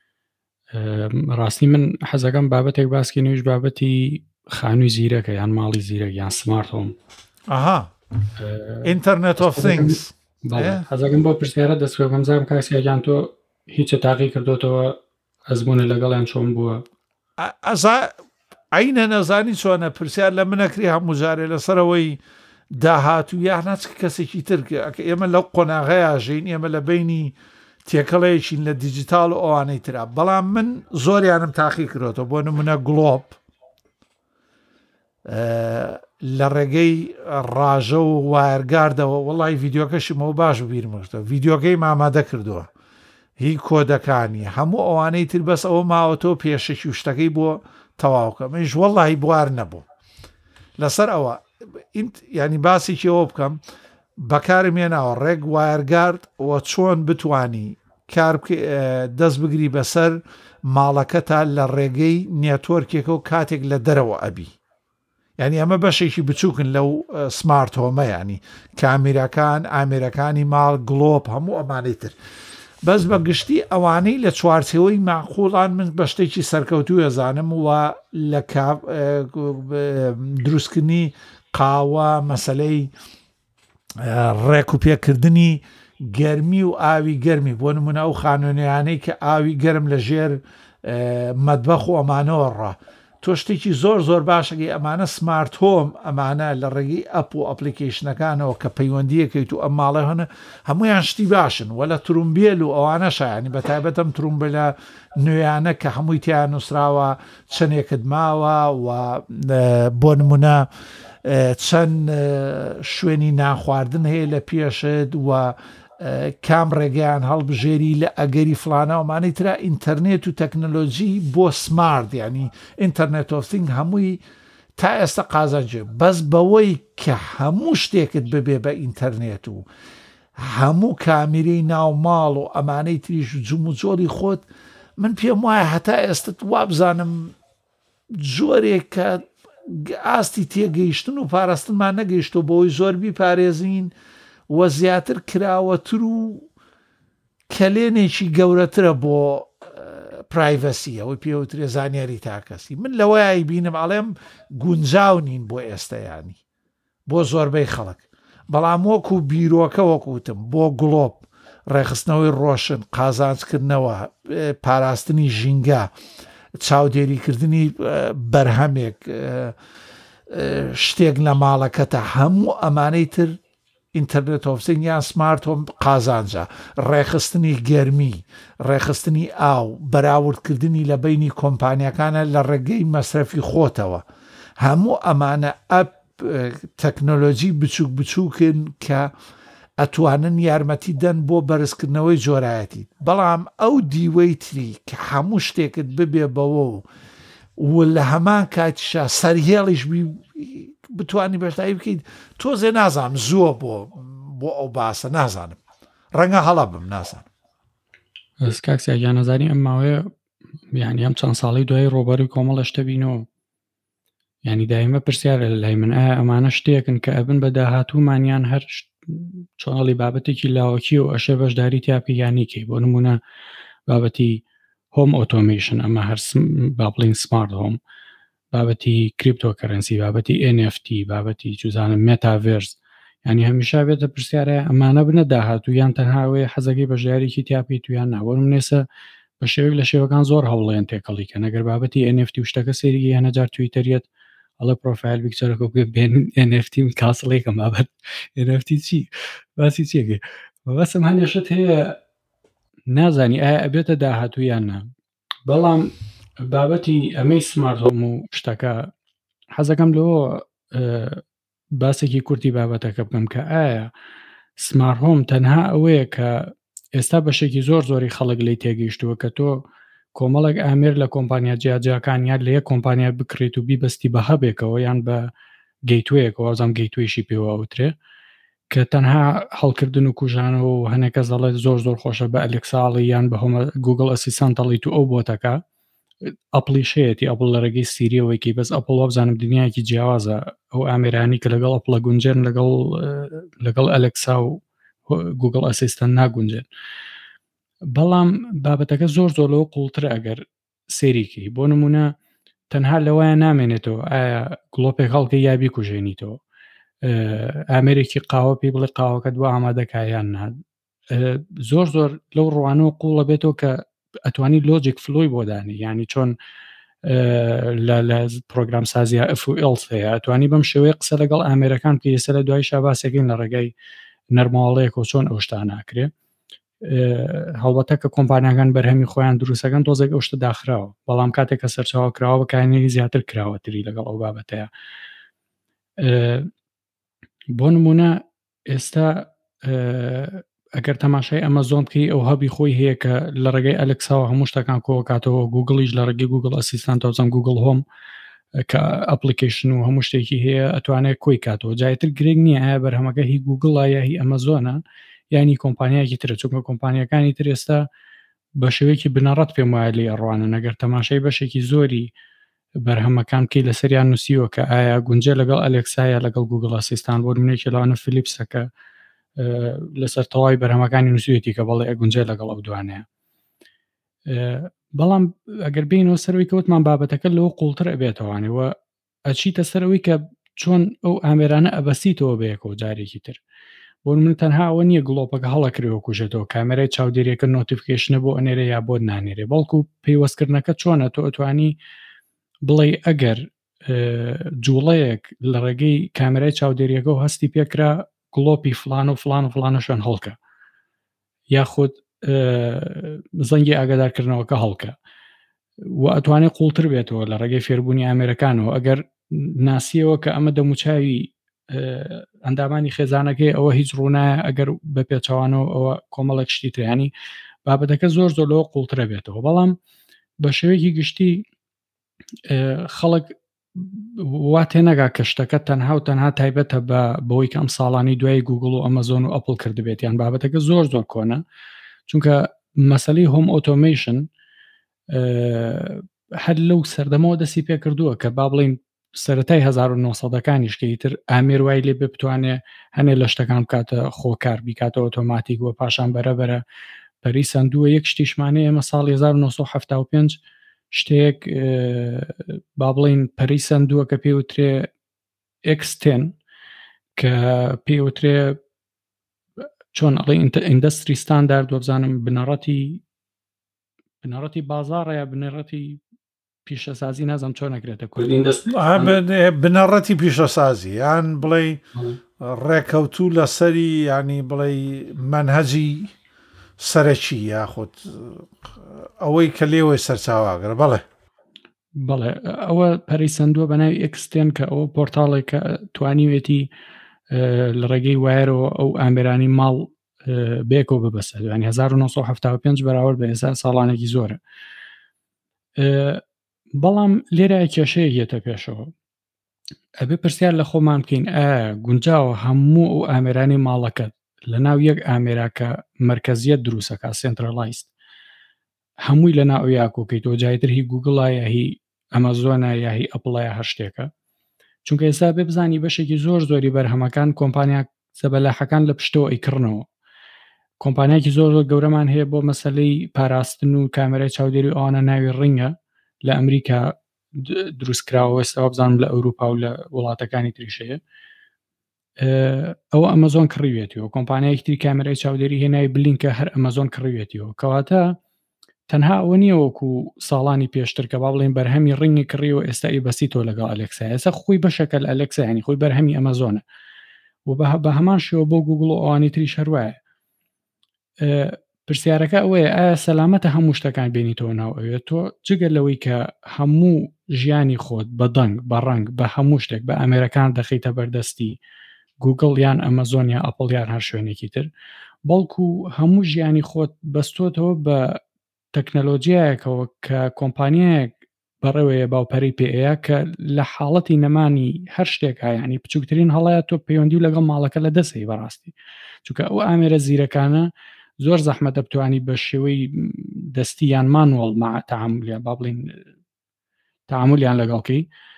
ڕاستی من حەزەکەم بابەتێک باسکی نوێژ بابەتی خانووی زیرەکە یان ماڵی زیرەک یان سمارت هۆم ئینتەرنێت ئۆف ثینگز حەزەکەم بۆ پرسیارە دەستکەم زانم کاکسیان تۆ هیچە تاقی کردوتەوە ئەزمونە لەگەڵیان چۆن بووە عینە نەزانی چۆنە پرسیار لە منەکری هەموو جارێ لەسەرەوەی داهاتوو یاخناچ کەسێکی ترکە ئێمە لەو قۆناغەیە ژین ئێمە لە بینی تێکەڵەیەکین لە دیجیتال و ئەوانەی ترا بەڵام من زۆریانم تاقی کردوتەوە بۆ نمونە گلۆب لە ڕێگەی ڕاژە و وایرگاردەوە وڵی ڤیددیۆکەشمەوە باش بیرمەشتە ڤیددیۆکەی مامادە کردووە هی کۆدەکانی هەموو ئەوانەی تر بەس ئەوە ماوەتەوە پێشەکی و شتەکەی بۆ تەواوکە منش وەڵی بوار نەبوو لەسەر ئەوە ینی باسێکی ئەوە بکەم بەکارمێناوە ڕێک وایرگارد و چۆن بتانی کار دەست بگری بەسەر ماڵەکەتا لە ڕێگەی نێتۆرکێکە و کاتێک لە دەرەوە ئەبی ینی ئەمە بەشێکی بچووکن لەو سمارت هۆمە ینی کامیرەکان ئامێرەکانی ماڵ گلۆپ هەموو ئەمانەی تر بەس بە گشتی ئەوانەی لە چوارچەوەی معقوڵان من بە شتێکی سەرکەوتوو ئەزانم و لە دروستکردنی قاوە مەسلەی ڕێک و پێکردنی گەرمی و ئاوی گەرمی بۆ نمونە ئەو خانوێنیانەی کە ئاوی گەرم لە ژێر مەدبەخ و ئەمانەوە ڕە تۆ شتێکی زۆر زۆر باشەکەی ئەمانە سمارت هۆم ئەمانە لە ڕێگەی ئەپ و ئەپلیکیشنەکانەوە کە پەیوەندیەکەیت و ئەم ماڵە هەنە هەمویان شتی باشن وە لە ترومبیل و ئەوانە شایانی بەتایبەتەم ترومبلە نوێیانە کە هەمووی تیان نووسراوە چەندێکت ماوە و بۆ نمونە چەند شوێنی ناخواردن هەیە لە پێشت و کام ڕێگەیان هەڵبژێری لە ئەگەری فلانەوەمانەی ترا ئینتەرنێت و تەکنۆلۆژی بۆ سمارت ینی ئینتەرنێت ئۆف ثینگ هەمووی تا ئێستا قازانجێ بەس بەوەی کە هەموو شتێکت ببێ بە ئینتەرنێت و هەموو کامیرەی ناوماڵ و ئەمانەی تریش جوم و جۆری خۆت من پێم وایە هەتا ئێستت وابزانم جۆرێک کە ئاستی تێگەیشتن و پاراستنمان نەگەیشتۆ بۆی زۆر بیپارێزین وە زیاتر کراوەتر و کەلێنێکی گەورەترە بۆ پرایڤەسی ئەوەی پێوترێ زانیاری تاکەسی من لەوەی بینم ئەڵێم گونجاو نین بۆ ئێستایانی بۆ زۆربەی خەڵک بەڵام وەکو بیرۆکە وەکوتم بۆ گڵۆپ ڕێخستنەوەی ڕۆشن قازانجکردنەوە پاراستنی ژینگە چاودێریکردنی بەرهەمێک شتێک لە ماڵەکەتە هەموو ئەمانەی تر ئینتەرنێت ئۆف ثینگ یان سمارت هۆم قازانجە ڕێخستنی گەرمی ڕێخستنی ئاو بەراوردکردنی لە بینی کۆمپانیەکانە لە ڕێگەی مەسرەفی خۆتەوە هەموو ئەمانە ئەپ تەکنۆلۆژی بچووک بچووکن کە ئەتوانن یارمەتی دەن بۆ بەرزکردنەوەی جۆرایەتی بەڵام ئەو دیوەی تری کە هەموو شتێکت ببێ بەوە و لە هەمان کاتیشا سەرهێڵیش بتوانانی بەشداری بکەیت تۆزێ نازانم زووە بۆ ئەو باسە نازانم ڕەنگە هەڵا بم نازانم کاکسیان نەزانی ئەم ماوەیە یعنی ئەم چەند ساڵی دوای ڕۆبەری کۆمەڵە شتە بینەوە ینی دایمە پرسیارە لای من ئەمانە شتێکن کە ئەبن بە داهاتوومانیان هەر چۆنەڵی بابەتێکی لاوەکی و ئەشێ بەشداری تیاپییانیکەی بۆ نمونە بابەتی هۆم ئۆتۆمیشن ئەمە هەر با بڵین سمارت هۆم بابەتی کریپتۆکەرنسی بابەتی NFT بابەتی جوزانم مێتاڤێرس ینی هەمیشا بێتە پرسیارە ئەمانە بنە داهاتوو یان تەنهاوێ حەزەکەی بەژیارێکی تیاپی تویان ناوە منێسە بە شێوەیەک لە شێوەکان زۆر هەوڵێن تێکەڵی کە نەگەر بابەتی NFT و شتەکە سێریگە هەنەجار تویتەریەت ئەڵە پرۆفایل بیکچەرەکە بێن NFT کاسڵێکم بابەت NFT چی باسی چیەکە بەسم هەندێشت هەیە نازانی ئایا ئەبێتە داهاتوویان نا بەڵام بابەتی ئەمەی سمارت هۆم و شتەکە حەزەکەم لەوە باسێکی کورتی بابەتەکە بکەم کە ئایا سمارت هۆم تەنها ئەوەیە کە ئێستا بەشێکی زۆری خەڵک لی تێگەیشتووە کە تۆ کۆمەڵێک ئامێر لە کۆمپانیا جیاجیاکان یان لە یەک کۆمپانیا بکرێت و بیبەستی بە هەبێکەوە یان بە گەیتوەیەکەوە وازام گەیتوێشی پێوە ئەوترێ کە تەنها هەڵکردن و کوژانەوە و هەنێکە زەڵێت زۆر خۆشە بە ئەلێکساڵی یان بە هەمە گوگل ئەسیستانتەڵی تو ئەو بۆتەکە ئەپلیشەیەتی ئەپڵ لە ڕێگەی سیریەوەیکی بەس ئەپڵ وابزانم دنیایکی جیاوازە ئەو ئامێرانی کە لەگەڵ ئەپڵە گونجێن لەگەڵ ئەلێکسا و گوگل ئەسیستەن ناگونجێن. بەڵام بابەتەکە زۆر لەوە قوڵترە ئەگەر سێریکی بۆ نمونە تەنها لەوەیە نامێنێتەوە ئایا گڵۆپێک هەڵکە یابی کوژێنیتەوە ئامێرێکی قاوە پێی بڵێ قاوەکە دو ئامادەکایان نات زۆر لەو ڕوانەوە قوڵە بێتەوە کە ئەتوانی لۆجیک فلۆی بۆدانی ینی چۆن لە پرۆگرام سازیە FOLs هەیە ئەتوانی بەم شێوەیە قسە لەگەڵ ئامێرەکان کە ئێستا لە دوای شاباسێکین لە ڕێگەی نەرماڵەیەک و چۆن ئەوشتا ناکرێ هەڵبەتە کە کۆمپانیاکان بەرهەمی خۆیان دروستەکەن تۆزێک ئەوشتە داخراوە بەڵام کاتێک کە سەرچاوە کراوە بەکارێنی زیاتر کراوەتری لەگەڵ ئەو بابەتەیە بۆ نمونە ئێستا ئەگەر تەماشای ئەمەزۆن بکەی ئەو هەبی خۆی هەیە کە لە ڕێگەی ئەلێکساوە هەموو شتەکان کۆکاتەوە گوگڵیش لە ڕێگەی گوگل ئەسیستان تۆزەم گوگل هۆم کە ئەپلیکیشن و هەموو شتێکی هەیە ئەتوانێت کۆی کاتەوە جایتر گرنگ نییە ئایا بەرهەمەکە هی گوگڵە یا هی ئەمەزۆنە ینی کۆمپانیایکی ترە چونکە کۆمپانیەکانی تر ئێستا بە شێوەیەکی بنەڕەت پێم وایە لێ ئەڕوانە نەگەر تەماشای بەشێکی زۆری بەرهەمەکان بکەی لەسەریان نووسیوە کە ئایا گونجێ لەگەڵ ئەلێکسایە لەگەڵ گوگڵ ئەسیستان بۆ نمونێکی لەوانە فلیپسەکە لەسەر تەواوی بەرهەمەکانی نووسیوێتی کە بەڵێ ئەگونجێ لەگەڵ ئەو دوانەیە بەڵام ئەگەر بینەوە سەرەوەی کەوتمان بابەتەکە لەوە قوڵتر ئەبێتەوانەوە ئەچیتە سەرەوەی کە چۆن ئەو ئامێرانە ئەبەسیتەوە بەیەکەوە جارێکی تر بۆ من تەنها ئەوە نییە گڵۆپەکە هەڵەکرێەوە کوژێتەوە کامێرای چاودێریەکە نۆتیفیکیشنە بۆ ئەنێرە یا بۆ نانێرێ بەڵکو پەیوەستکردنەکە چۆنە تۆ ئەتوانی بڵێ ئەگەر جوڵەیەک لە ڕێگەی کامێرای چاودێریەکە و هەستی پێکرا گڵۆپی فلان و فلانە شوێن هەڵکە یاخود زەنگی ئاگادارکردنەوەکە هەڵکە و ئەتوانێت قوڵتر بێتەوە لە ڕێگەی فێربوونی ئامێرەکانەوە ئەگەر ناسیەوە کە ئەمە دەموچاوی ئەندامانی خێزانەکەی ئەوە هیچ ڕوونایە ئەگەر بە پێچەوانەوە ئەوە کۆمەڵێک شتی تریانی بابەتەکە زۆر لەوە قوڵترە بێتەوە بەڵام بە شێوەیەکی گشتی خەڵک وا تێنەگا کە شتەکە تەنها و تەنها تایبەتە بەوەی کە ئەم ساڵانی دوای گوگڵ و ئەمەزۆن و ئەپڵ کردبێت یان بابەتەکە زۆر کۆنە چونکە مەسەلەی هۆم ئۆتۆمیشن هەر لەو سەردەمەوە دەستی پێ کردووە کە با بڵین سەرەتای 1970ەکانیش کە ئیتر ئامێر وای لێ بتوانێت هەنێ لە شتەکان بکاتە خۆکار بیکاتە ئۆتۆماتیک وە پاشان بەرەبەرە پەری سندووە یەک شتیشمانەیە ئێمە ساڵی 1975 شتێک با بڵین پەری سندووە کە پێوترێ X10 کە پێوترێ چۆن ئەڵێ ئیندەستری ستاندارد وەبزانم بنەڕەتی بازاڕە یا بنەڕەتی پیشەسازی نازم چۆن نەکرێتە بنەڕەتی پیشەسازی یان بڵێ ڕێکەوتوو لەسەری ینی بڵێ منهەجی سەرەکی یاخود ئەوەی کە لێوەی سەرچاواگەر بەڵێ ئەوە پەریسەندووە بە ناوی ئەکسستێن کە ئەوە پۆرتاڵێک کە توانیوێتی لە ڕێگەی وایرەوە ئەو ئامێرانی ماڵ بێکەوە ببەسە ینی 1975 بەراورد بە ئێستا ساڵانێکی زۆرە بەڵام لێرە کێشەیە یێتە پێشەوە ئەبێ پرسیار لە خۆمان بکەین گونجاوە هەموو ئەو ئامێرانی ماڵەکەت لە ناو یەک ئامێراکە مرکزیت دروستەکە سنترالایزد هەمووی لە ناو یاکۆکەیتەوە جایتر هی گوگڵایە هی ئەمەزۆنە یا هی ئەپڵایە هەر شتێکە چونکە ئێستا بێ بزانی بەشێکی زۆری بەرهەمەکان کۆمپانیا زەبەلاحەکان لە پشتەوە ئەیکردنەوە کۆمپانیاکی زۆر گەورەمان هەیە بۆ مەسەلەی پاراستن و کامێرای چاودێری ئەوانە ناوی ڕینگە لە ئەمریکا دروستکراوە ئێستا بزانم لە ئەوروپا و لە وڵاتەکانی تریشەیە ئەوە ئەمەزۆن کڕیوێتیەوە کۆمپانیایەکی تری کامێرای چاودێری هێنای بلینکە هەر ئەمەزۆن کڕیوێتیەوە کەواتە تەنها ئەوە نییە وەکو ساڵانی پێشتر کە با بڵێن بەرهەمی ڕینگی کڕیەوە ئێستا بەسیتەوە لەگەڵ ئەلێکسا ئێستا خۆی بەشەکە لە ئەلێکسا ینی خۆی بەرهەمی ئەمەزۆنە و بە هەمان شێوە بۆ گوگڵ و ئەوانی تریش هەروایە پرسیارەکە ئەوەیە ئایا سەلامەتە هەموو شتەکان بینیتەوە ناو ئەوێ تۆ جگە لەوەی کە هەموو ژیانی خۆت بە دەنگ بە ڕنگ بە هەموو شتێک بە ئەمریکان دەخیتە بەردەستی گوگل یان ئەمەزۆن یا ئەپڵ یان هەر شوێنێکی تر بەڵکو هەموو ژیانی خۆت بەستۆتەوە بە تەکنەلۆجیایەکەوە کە کۆمپانیایەک بەڕێوەیە باوپەری پێەیە کە لە حاڵەتی نەمانی هەر شتێک ینی بچووکترین هەڵەیە تۆ پەیوەندی و لەگەڵ ماڵەکە لە دەسەی بەڕاستی چونکە ئەو ئامێرە زیرەکانە زۆر زەحمەتە بتوانی بە شێوەی دەستی یان مانوەڵ تەعاملیان با بڵین تەعاملیان لەگەڵکەی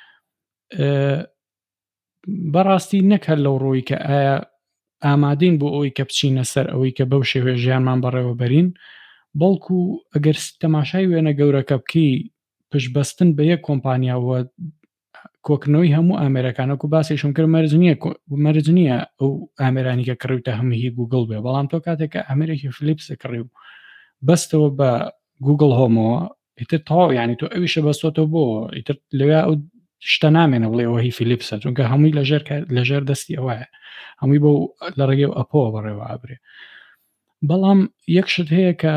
بەڕاستی نەکە لەو ڕۆی کە ئایا ئامادەین بۆ ئەوەی کە بچینە سەر ئەوەی کە بەو شێوێ ژیانمان بەڕێوە بەرین بەڵکو ئەگەر تەماشای وێنە گەورەکە بکەی پشبەستن بە یەک کۆمپانیاوە کۆکردنەوەی هەموو ئامێرەکانەکو باسیشم کرد مەرج نییە ئەو ئامێرانی کە کڕیوتە هەمووی گوگل بێ بەڵام تۆ کاتێککە ئەمریکی فلیپس کڕی و بەستەوە بە گوگل هۆمەوە ئیتر تەواو ینی تۆ ئەویشە بەستۆتەوە بۆ ئیتر لەوێ ئەو شتە نامێنە بڵێ ئەوە هی فلیپسە چونکە هەمووی لەژێر دەستی ئەوەیە هەمووی بۆ لە ڕێگەی ئەپۆوە بەڕێوە ئابرێ بەڵام یەک شت هەیە کە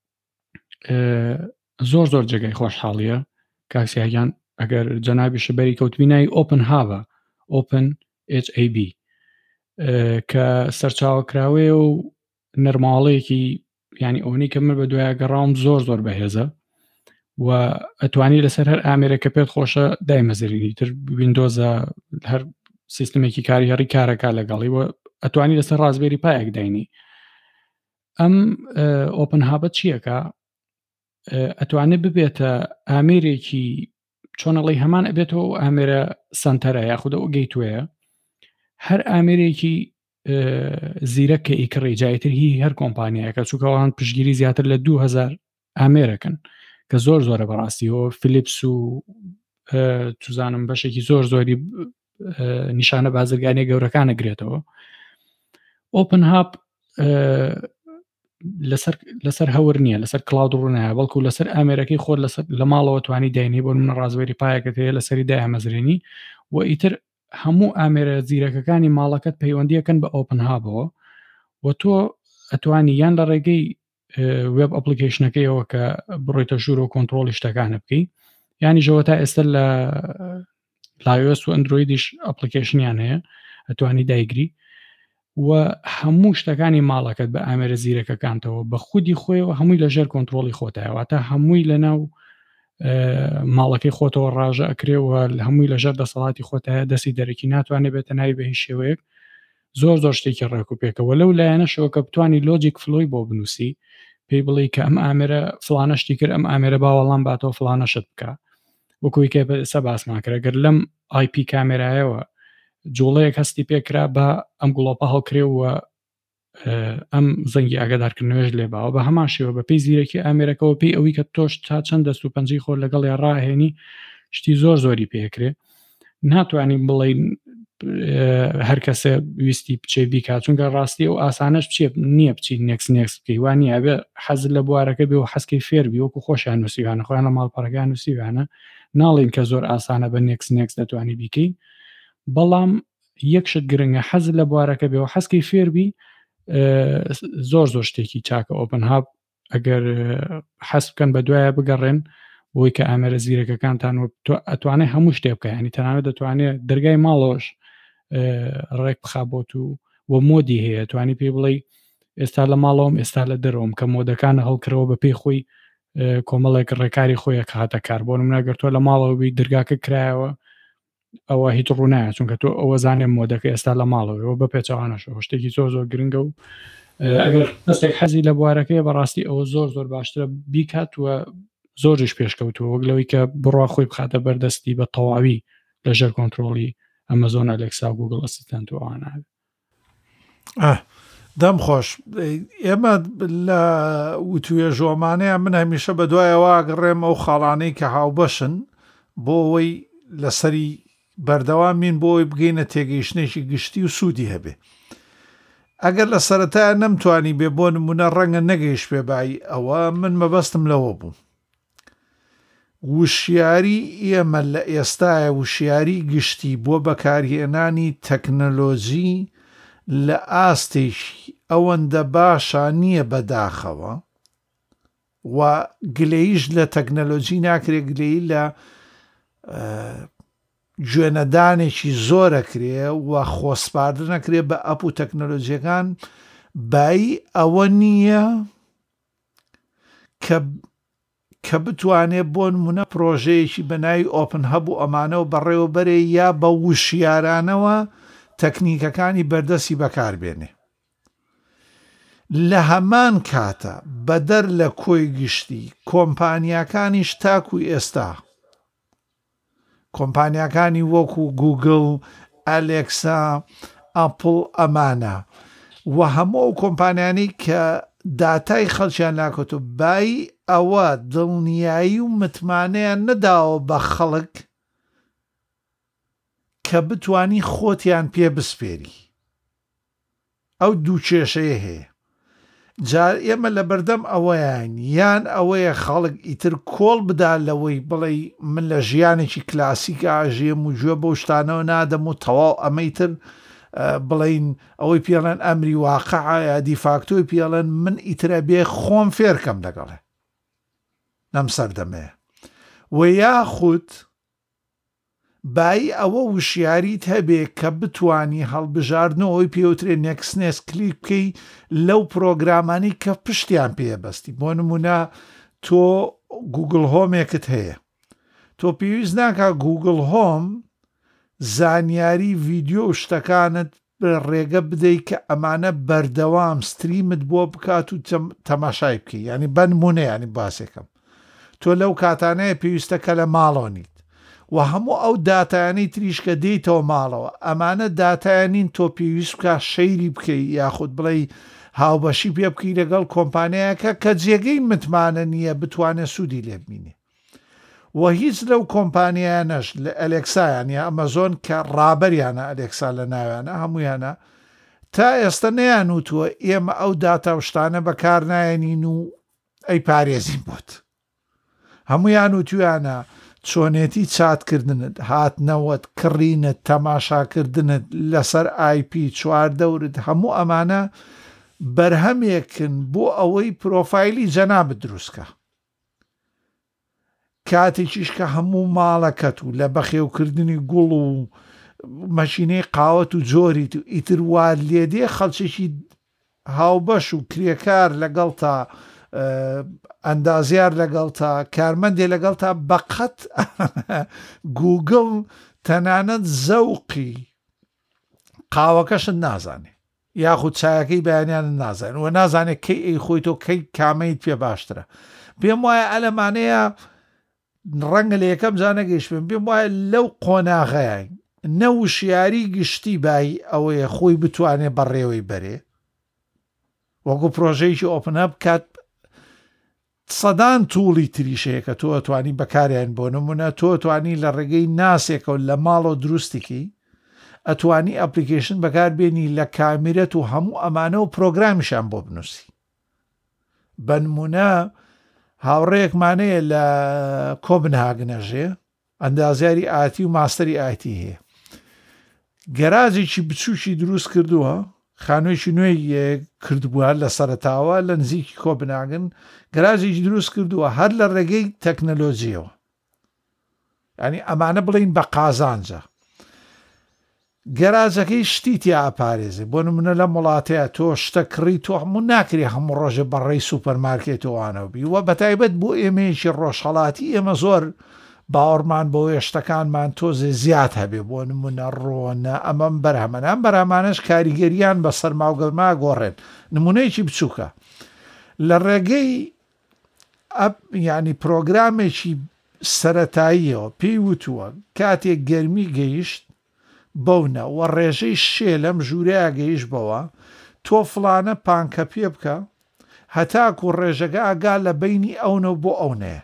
زۆر جێگای خۆشحاڵیە کاکسیاگیان ئەگەر جەنابیشە بەری کەوتبینایی ئۆپن هابە ئۆپن HAB کە سەرچاوەکراوێ و نەرماڵەیەکی ینی ئەوەی کە من بە دوایە گەڕاوم زۆر بەهێزە و ئەتوانی لەسەر هەر ئامێرەکە پێت خۆشە دایمەزرینی تر ویندۆزە هەر سیستمێکی کاری هەڕی کارەکە لەگەڵی و ئەتوانی لەسەر ڕازبێری پایەک داینی ئەم ئۆپن هابە چیەکە ئەتوانێت ببێتە ئامێرێکی چۆنەڵی هەمان ئەبێتەوە ئامێرە سنتەرە یاخودە ئەو گەیتوەیە هەر ئامێرێکی زیرەکە ئیکڕی جایتر هی هەر کۆمپانیایەکە چووکەوان پشگیری زیاتر لە 2000 ئامێرەکەن کە زۆرە بەڕاستیەوە فلیپس و توزانم بەشێکی زۆری نیشانە بازرگانی گەورەکانە گرێتەوە ئۆپن هاب لەسەر هەور نییە لەسەر کلااود ڕوونایە بەڵکو لەسەر ئامێرەکەی خۆر لە ماڵەوە توانی داینی بۆ منە ڕازبێری پایەکەت هەیە لەسەری دامەزرێنی و ئیتر هەموو ئامێرە زیرەکەەکانی ماڵەکەت پەیوەندیەکەن بە ئۆپن هابەوە و تۆ ئەتوانی یان لە ڕێگەی وێب ئەپلیکیشنەکەیەوە کە بڕۆیتە ژوور و کۆنتترۆلی شتەکانە بکەی ینی ژەوە تا ئێستا لە لایۆس و ئەندرویدیش ئەپلیکیشنیان هەیە ئەتوانی دایگری و هەموو شتەکانی ماڵەکەت بە ئامێرە زیرەکەکانتەوە بە خودی خۆیەوە هەمووی لەژێر کۆنتترۆلی خۆتایەوە تا هەمووی لەناو ماڵەکەی خۆتەوە ڕاژە ئەکرێەوە هەمووی لەژێر دەسەڵاتی خۆتایە دەستی دەرەکی ناتوانێت بێتە ناوی بە هیچ شێوەیەک زۆر شتێکی ڕێکوپێکەوە لەو لایەنەشەوە کە بتوانی لۆجیک فلۆی بۆ بنووسی پێی بڵێ کە ئەم ئامێرە فلانەشتی کرد ئەم ئامێرە باوەڵام باتەوە فلانەشت بکە وەکوی کە ئێستا باسمان کرد گەر لەم IP کامێرایەوە جوڵەیەک هەستی پێکرا بە ئەم گوڵۆپە هەڵکرێەوە ئەم زەنگی ئاگادارکردنەوەش لێباوە بە هەمان شێوە بە پێی زیرەکی ئامێرەکەەوە پێی ئەوەی کە تۆش تا چەند دەست و پەنجەی خۆر لەگەڵ یا ڕاهێنی شتی زۆری پێکرێ ناتوانین بڵین هەر کەسە ویستی بچێ بیکات چونکە ڕاستی و ئاسانش بچێ نییە بچیت نێکس بکەی وانە بێ حەزت لە بوارەکە بێ و حەسکەی فێربی وەکو خۆشیان نووسیوانە خۆیان لە ماڵپەڕەکان نووسیوانە ناڵین کە زۆر ئاسانە بە نێکس دەتوانی بیکەی بەڵام یەکشت گرنگە حەزت لە بوارەکە بێ و حەسکەی فێربی زۆر شتێکی چاکە ئۆپن هاب ئەگەر حەس بکەن بە دوایە بگەڕێن بۆی کە ئامێرە زیرەکەکانتان ئەتوانێت هەموو شتێ بکە ینی تەنانەت دەتوانێت دەرگای ماڵۆش ڕێک بخابۆت و مۆدی هەیە توانی پێی بڵێ ئێستا لە ماڵەوەم ئێستا لە دەرەوەم کە مۆدەکانە هەڵکرەوە بە پێی خۆی کۆمەڵێک ڕێکاری خۆیە کاتە کار بۆ مناگەر تۆ لە ماڵەوەبی دەرگاکە کرایەوە ئەوە هیچ ڕوونایە چونکە تۆ ئەوە زانێ مۆدەکە ئێستا لە ماڵەوەەوە بە پێچەوانەشەوە شتێکی زۆر گرنگە و ئەگەر دەستێک حەزی لە بوارەکەی بەڕاستی ئەوە زۆر باشترە بیکات وە زۆرش پێشکەوتووە وەک لەوەی کە بڕوا خۆی بخاتە بەردەستی بە تەواوی لەژێر کۆنتترۆلی ئەمەزۆن ئەلێکسا و گوگل ئەسیستەنت و ئەوانە دەم خۆش ئێمە لە وتوێ ژۆمانەیە من هەمیشە بە دوایەوە گەڕێم ئەو خاڵانەی کە هاوبەشن بۆ ئەوەی لەسەری بەردەوامین بۆی بگەینە تێگەیشتێکی گشتی و سوودی هەبێ ئەگەر لە سەرەتایە نەمتوانی بێ بۆ نمونە ڕەنگە نەگەیشت پێبایی ئەوە من مەبەستم لەوە بوو وشیاری ئێمە لە ئێستاە وشیاری گشتی بۆ بەکارهێنانی تەکنەلۆژی لە ئەوەندە باشە نییە بەداخەوە و گلەیش لە تەکنەلۆجی ناکرێت گلەی لە گوێنەدانێکی زۆرەکرێ و خۆسپاردن نەکرێت بە ئەپ و تەکنەلۆجیەکان بای ئەوە نییە کە بتوانێت بۆ نمونە پرۆژەیەکی بەناوی ئۆپن هەب و ئەمانەوە بەڕێوەبەرێ یا بە وشیارانەوە تەکنیکەکانی بەردەستی بەکاربێنێ. لە هەمان کاتە بەدەر لە کۆی گشتی کۆمپانیاکانیش تاکوی ئێستا کۆمپانیاکانی وەکو گوگڵ، ئەلێکسا، ئەپڵ ئەمانە و هەموو کۆمپانیانی کە داتای خەڵکیان ناکەوت و بای ئەوە دڵنیایی و متمانەیان نەداوە بە خەڵک کە بتوانی خۆتیان پێ بسپێری. ئەو دوو کێشەیە هەیە. جار ئێمە لە بەردەم ئەوەیان یان ئەوەیە خەڵک ئیتر کۆڵ بدا لەوەی بڵێ من لە ژیانێکی کلاسیک ئاژێم و گوێ بۆ شتانەوە نادەم و تەواو ئەمەیتر بڵین ئەوەی پێڵەن ئەمری واقعە یا دیفاکتۆی پێڵەن من ئیترە بێ خۆم فێرکەم لەگەڵێ نەم سەردەمەیە و یاخود بای ئەوە وشیاریت هەبێ کە بتانی هەڵبژاردنەوەی پێوترێ نێکسنێس کلیک بکەی لەو پرۆگرامانی کە پشتیان پێبەستی. بۆ نمونە تۆ گوگل هۆمێکت هەیە، تۆ پێویست ناکە گوگل هۆم زانیاری ڤیدیۆ و شتەکانت ڕێگە بدەیت کە ئەمانە بەردەوام ستریمت بۆ بکات و تەماشای بکەی. ینی بەنمونە ینی باسێکم تۆ لەو کاتانەیە پێویستەکە لە ماڵۆنیت و هەموو ئەو داتایانی تریش کە دێیتەوە ماڵەوە ئەمانە داتایانین تۆ پێویست بکە شەیری بکەی یاخود بڵێ هاوبەشی پێ بکەی لەگەڵ کۆمپانیایەکە کە جێگەی متمانە نییە بتوانێت سوودی لێ ببینێ. و هیچ لەو کۆمپانیانەش لە ئەلێکسایان یا ئەمەزۆن کە ڕابەریانە ئەلێکسا لە ناویانە هەمویانە تا ئێستا نەیانوتووە ئێمە ئەو داتا و شتانە بەکار نایەنین و ئەی پارێزین بۆت. هەمویان وتویانە چۆنێتی چاتکردنت، هاتنەوەت، کڕینت، تەماشاکردنت لەسەر IP 4 هەموو ئەمانە بەرهەمێکن بۆ ئەوەی پرۆفایلی جەنابت دروستکە. کاتێکیش کە هەموو ماڵەکەت و لە بەخێوکردنی گوڵ و مەشینەی قاوەت و جۆریت و ئیتر وار لێدێ خەڵکێکی هاوبەش و کرێکار لەگەڵ تا ئەندازیار لەگەڵ تا کارمەندێ لەگەڵ تا بەقەت گوگڵ تەنانەت زەوقی قاوەکەشت نازانێ یاخود چایەکەی بەیانیانت نازانێت و نازانێت کەی ئەی خۆی تۆ کەی کامەیت پێ باشترە. پێم وایە ئەلەمانەیە ڕەنگە لە یەکەم جانەگەیشت پێم وایە لەو قۆناغەیە نەوشیاری گشتی بای ئەوەیە خۆی بتوانێت بەڕێوەی بەرێ وەکو پرۆژەیەکی ئۆپن هەب کات سەدان تووڵی تریشەیە کە تۆ ئەتوانی بەکاریان بۆ نمونە تۆ ئەتوانی لە ڕێگەی ناسێکە و لە ماڵەوە دروستێکی ئەتوانی ئەپلیکیشن بەکار بێنی لە کامیرەت و هەموو ئەمانە و پرۆگرامیشان بۆ بنووسی. بە نمونە هاوڕێیەکمانەیە لە کۆبنهاگنەژێ ئەندازیاری ئاتی و ماستەری ئاتی هەیە، گەراجێکی بچووکی دروست کردووە، خانوویەکی نوێی کردبووە لە سەرەتاوە لە نزیکی کۆبنهاگن گەراجێکی دروست کردووە هەر لە ڕێگەی تەکنەلۆجیەوە، ینی ئەمانە بڵین بە قازانجە. گەراجەکەی شتی تیا ئاپارێزێ بۆ نمونە لە وڵاتەیە تۆ شتە کڕی تۆ هەموو ناکری هەموو ڕۆژە بەڕێی سوپەرمارکێتەوەوانەوە بی وە بەتایبەت بۆ ئێمەیەکی ڕۆژهەڵاتی ئێمە زۆر باوەڕمان بۆ شتەکانمان تۆزێ زیاد هەبێ بۆ نمونە ڕۆنە ئەمەم بەرهەمەنان بەرهەمانش کاریگەریان بە سەرماوگەڵما گۆڕێن. نمونەیەکی بچووکە لە ڕێگەی ینی پرۆگرامێکی سەرەتاییەوە پێی وتووە کاتێک گەرمی گەیشت بەونە و ڕێژەی شێ لەم ژوورەیە گەیشت بەوە تۆ فڵانە پانکە پێ بکە هەتاکو ڕێژەکە ئاگا لە بینی ئەونە بۆ ئەونەیە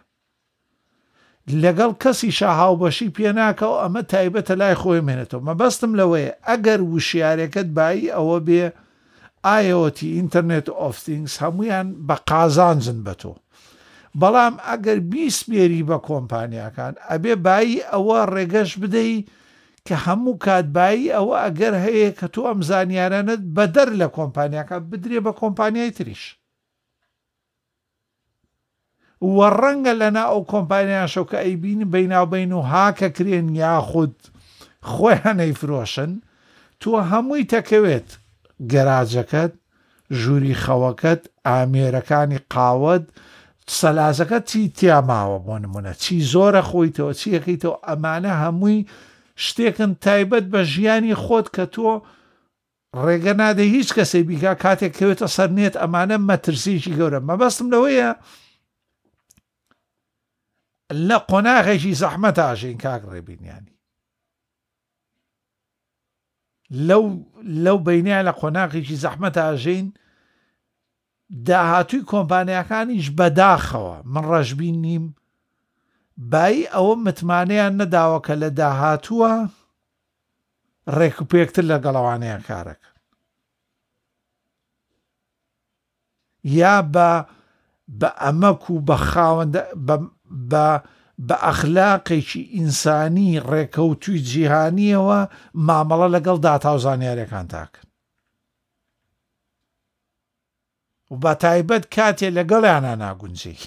لەگەڵ کەسی شاهاوبەشی پێناکەەوە ئەمە تایبەتە لای خۆی مێنێتەوە. مەبەستم لەوەیە ئەگەر وشیارەکەت بایی ئەوە بێ IoT ئینتەرنێت ئۆف تینگز هەمویان بە قازانجن بە تۆ، بەڵام ئەگەر بیسپێری بە کۆمپانیاکان ئەبێ بایی ئەوە ڕێگەش بدەی کە هەموو کاتبایی ئەوە ئەگەر هەیە کە تۆ ئەم زانیارانت بەدەر لە کۆمپانیاکە بدرێ بە کۆمپانیای تریش وە ڕەنگە لەنا ئەو کۆمپانیاشەو کە ئەیبین بەیناوبین و هاکە کرێن یاخود خۆیان ئەیفرۆشن تۆ هەمووی تەکەوێت گەراجەکەت ژووری خەوەکەت ئامێرەکانی قاوەت سەلازەکە چی تیاماوە بۆ نمونە چی زۆرە خۆیتەوە چیەکەیتەوە ئەمانە هەمووی شتێکن تایبەت بە ژیانی خۆت کە تۆ ڕێگە نادە هیچ کەسێ بیکا کاتێک کەوێتە سەرنێت ئەمانە مەترسیشی گەورە مەبەستم لەوەیە لە قۆناغێکی زەحمەت ئاژین کاک ڕێبینیانی لەو بینیان لە قۆناغێکی زەحمەت ئاژین داهاتووی کۆمپانیەکانیش بەداخەوە من ڕەشبین نیم بای ئەوە متمانەیان نەداوە کە لە داهاتووە ڕێک و پێکتر لە گەڵەوانەیان کارەکە یا بە ئەمەک و بە خاوەندە بە ئەخلاقێکی ئینسانی ڕێکەوتووی جیهانیەوە مامەڵە لەگەڵ داتا و زانیاریەکان تاکەن و بە تایبەت کاتێ لەگەڵیانە ناگونجێ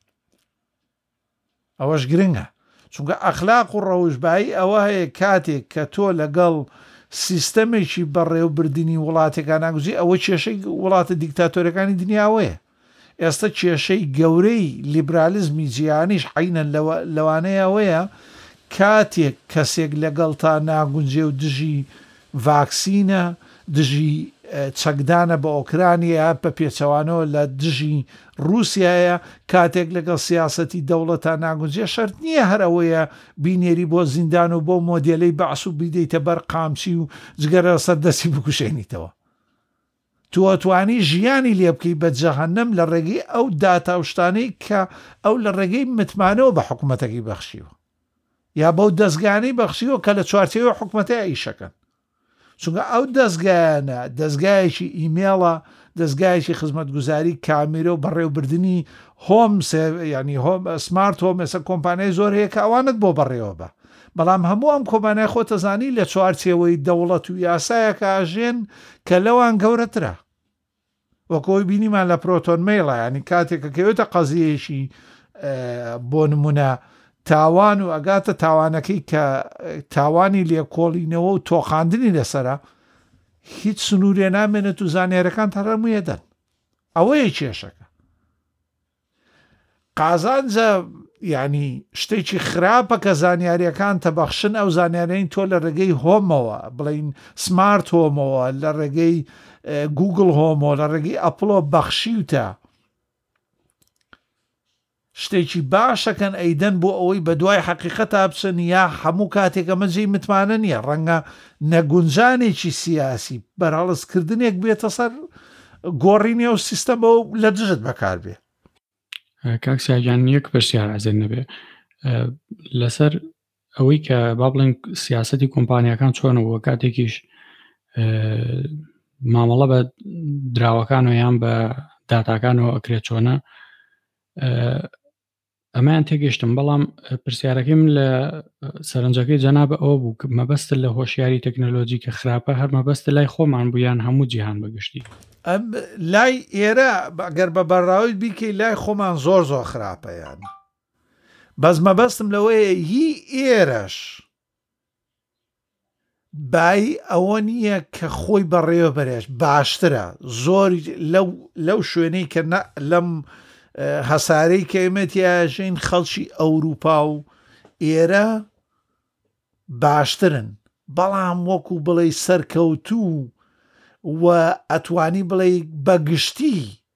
ئەوەش گرنگە چونکە ئەخلاق و ڕەوشبایی ئەوە هەیە کاتێک کە تۆ لەگەڵ سیستەمێکی بەڕێوەبردننی وڵاتێکان ناگوزی ئەوە کێشەی وڵاتە دیکتاتۆرەکانی دنیاوەیە ئێستا کێشەی گەورەی لیبرالیزمی جیهانیش حینەن لەوانەیەوەیە کاتێک کەسێک لەگەڵ تا ناگونجێ و دژی ڤاکسینە دژی چەکدانە بە ئۆکرانیا بە پێچەوانەوە لە دژی رووسایە کاتێک لەگەڵ سیاسەتی دەوڵەتە ناگونجێ شەرت نییە هەرەوەیە بینێری بۆ زیندان و بۆ مۆدێلەی بەعس و بیدەیتە بەر قامچی و جگەرە سەردەستی بکوشێنیتەوە تو توانی ژیانی لێ بکەی بە جەهەنەم لە ڕێگەی ئەو داتاوشتانەی کە ئەو لە ڕێگەی متمانەوە بە حکوومەتەکەی بەخشیوە یا بەو دەستگانەی بەخشیوە کە لە چوارچێوە حکوومەتەی ئیشەکەن چونکە ئەو دەستگایانە دەستگایەکی ئیمێڵە دەستگایەکی خزمەتگوزاری کامیرە و بەڕێوەبردننی هۆم ینی هۆم سمارت هۆم ئێستا کۆمپانیای زۆر هەیە کە ئەوانت بۆ بەڕێوە بە بەڵام هەموو ئەم کۆمپانیای خۆتەزانی لە چوارچێوەی دەوڵەت و یاسایەکە ئاژێن کە لەوان گەورەترە وەکەوەی بینیمان لە پرۆتۆن مەیڵە ینی کاتێکە کەوێتە قەزیەیەشی بۆ نمونە تاوان و ئەگاتە تاوانەکەی کە تاوانی لێکۆڵینەوە و تۆخاندنی لەسرە هیچ سنوورێ نامێنێت و زانیارەکان تەڕەمویە دەن ئەوەیە کێشەکە قازانجە ینی شتێکی خراپە کە زانیاریەکان تەبەخشن ئەو زانیارین تۆ لە ڕێگەی هۆمەوە بڵین سمارت هۆمەوە لە ڕێگەی گوگل هۆمەوە لە ڕێگەی ئەپڵۆ بەخشیوتە شتێکی باشەکەن ئەیدەن بۆ ئەوەی بە دوای حەقیقەتا بچن یا هەموو کاتێک ئەمەجێی متمانە نییە ڕەنگە نەگونجانێکی سیاسی بەرهەڵسکردنێک بێتە سەر گۆڕینی ئەو سیستەمە و لە دژت بەکار بێ کاکسیاگیان یەک پرسیار ئازێن نەبێ لەسەر ئەوەی کە با بڵێن سیاسەتی کۆمپانیەکان چۆنەوە کاتێکیش مامەڵە بە دراوەکان و یان بە داتاکانەوە ئەکرێت چۆنە ئەمایان تێگەشتم بەڵام پرسیارەکەی من لە سەرنجەکەی جەنابە ئەوە بوو مەبەستە لە هۆشیاری تەکنۆلۆژی کە خراپە هەر مەبەستە لای خۆمان بوویان هەموو جیهان بەگشتی لای ئێرە ئەگەر بە بەڕاوی بیکەی لای خۆمان زۆر زۆر خراپە یان بەس مەبەستم لەوەیە هی ئێرەش بای ئەوە نییە کە خۆی بەڕێوە بەرێش باشترە زۆر لەو شوێنەی کە لەم هەسارەی کە ئێمەتیاژین خەڵکی ئەوروپا و ئێرە باشترن بەڵام وەکو بڵێ سەرکەوتوو و ئەتوانی بڵێ بەگشتی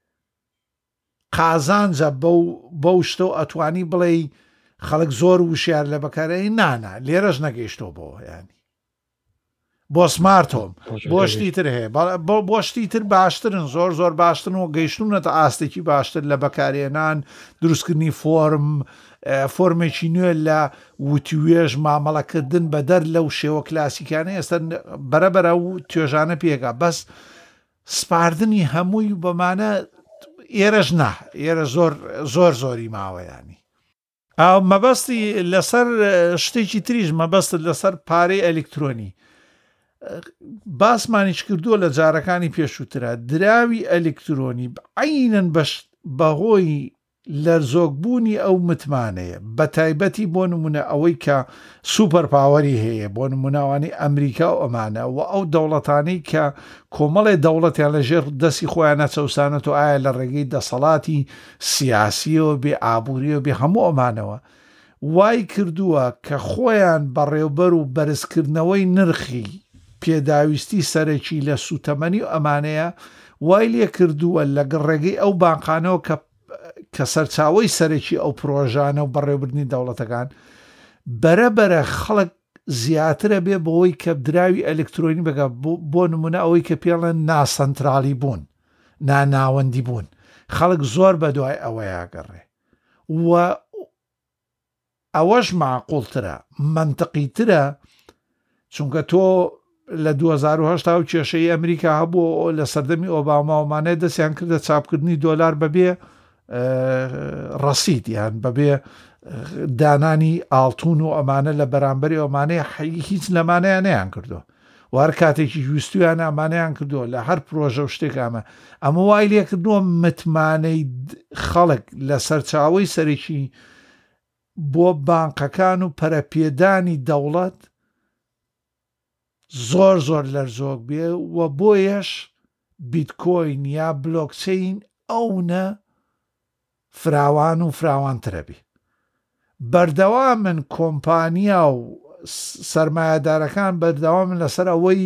قازانجە بەو شتە و ئەتوانی بڵێ خەڵک زۆر وشیار لە بەکارەی نانە لێرەش نەگەیشتەوە بۆ ینی بۆ سمارتۆم بۆ شتی تر هەیە بۆ شتی تر باشترن زۆر زۆر باشترن و گەیشتونەتە ئاستێکی باشتر لە بەکارێنان دروستکردنی فۆرمێکی نوێ لە وتیوێژ مامەڵەکردن بەدەر لەو شێوە کلاسیکانە ئێستا بەرەبەرە و توێژانە پێکا بەس سپاردنی هەمووی بەمانە ئێرەش ئێرە زۆر زۆری ماوەیانی ئاو مەبەستی لەسەر شتێکی تریژ مەبەستت لەسەر پارەی ئەلکترۆنی باسمانیش کردووە لە جارەکانی پێشووترە دراوی ئەلکترۆنی عینەن بەهۆی لەرزۆکبوونی ئەو متمانەیە بە تایبەتی بۆ نمونە ئەوەی کە سوپەر پاوەری هەیە بۆ نموناوانی ئەمریکا و ئەمانە و ئەو دەوڵەتانەی کە کۆمەڵێ دەوڵەتیان لەژێر دەستی خۆیان نەچەوسانێت و ئایا لە ڕێگەی دەسەڵاتی سیاسیەوە بێ ئابووریەوە بێ هەموو ئەمانەوە وای کردووە کە خۆیان بەڕێوبەر و بەرزکردنەوەی نرخی پێداویستی سەرەکی لە سوتەمەنی و ئەمانەیە وای لێ کردووە لەگەڵ ڕێگەی ئەو بانقانەوە کە سەرچاوی سەرەکی ئەو پرۆژانە و بەڕێوەبردنی دەوڵەتەکان بەرەبەرە خەڵک زیاترە بێ بەوەی کە دراوی ئەلکترۆنی بگە بۆ نمونە ئەوەی کە پێڵێن ناسەنترالی بوون ناناوەندی بوون خەڵک زۆر بە دوای ئەوە یاگەڕێ و ئەوەش معقوڵترە منطقیترە چونکە تۆ لە 2010 و کێشەی ئەمریکا هەبوو لە سەردەمی ئۆباماومانەیە دەستیان کردە چاپکردنی دۆلار بەبێ ڕەسید یان بەبێ دانانی ئاڵتون و ئەمانە لە بەرامبەری ئەمانەیە هیچ لەمانەیە نەیان کردو و هەر کاتێکی ویستویان ئەمانەیان کردووە لە هەر پرۆژە و شتێک ئەمە وای لێ کردووە متمانەی خەڵک لە سەرچاوی سەرێکی بۆ بانقەکان و پەرەپێدانی دەوڵەت زۆر زۆر لەرزۆک بێ و بۆیەش بیتکۆین یا بلۆکچین ئەوە فراوان و فراوانترە بێ بەردەوامن کۆمپانیا و سەرمایەدارەکان بەردەوامن لەسەر ئەوەی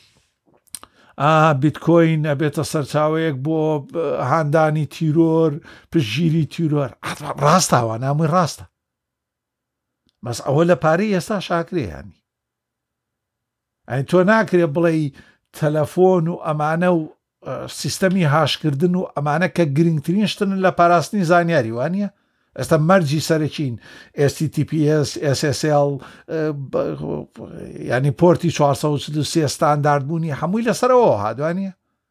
بیتکۆین ئەبێتە سەرچاوەیەک بۆ هاندانی تیرۆر پشگیری تیرۆر ڕاستاوە نامووی ڕاستە بەس ئەوە لە پارەی ئێستا شاکرێیانی ئەی تۆ ناکرێ بڵێ تەلەفۆن و ئەمانە و سیستەمی هاشکردن و ئەمانە کە گرنگترین شتن لە پاراستنی زانیاری وانە ئێستا مەرجی سەرچین HTTPS SSL ینی پۆرتی 433 ستانداردبوونی هەمووی لەسەرەوە هادوانە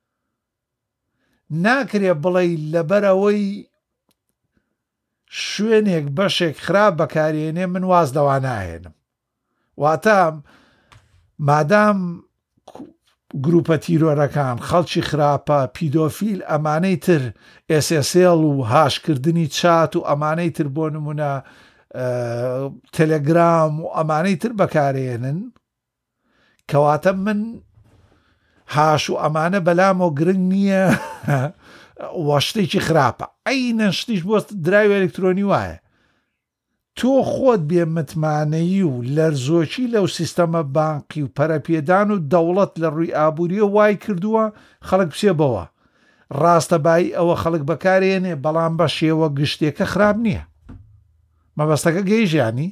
ناکرێ بڵێ لەبەرەوەی شوێنێک بەشێک خراپ بەکارێنێ من واز دەوا ناهێنم واتە مادام گروپە تیرۆرەکان خەڵکی خراپە پیدۆفیل ئەمانەی تر SSL و هاشکردنی چات و ئەمانەی تر بۆ نمونە تەلەگرام و ئەمانەی تر بەکارێنن کەواتە من هاش و ئەمانە بەلامۆ گرنگ نییە وە شتێکی خراپە عینەن شتیش بۆ دراوی ئەلکترۆنی وایە تۆ خۆت بێ متمانەیی و لەرزۆکی لەو سیستەمە بانقی و پەرەپێدان و دەوڵەت لە ڕووی ئابووریە وای کردووە خەڵک بچێ بەوە ڕاستەبایی ئەوە خەڵک بەکارێنێ بەڵام بە شێوە گشتێکە خراپ نییە مەبەستەکە گەیژیانی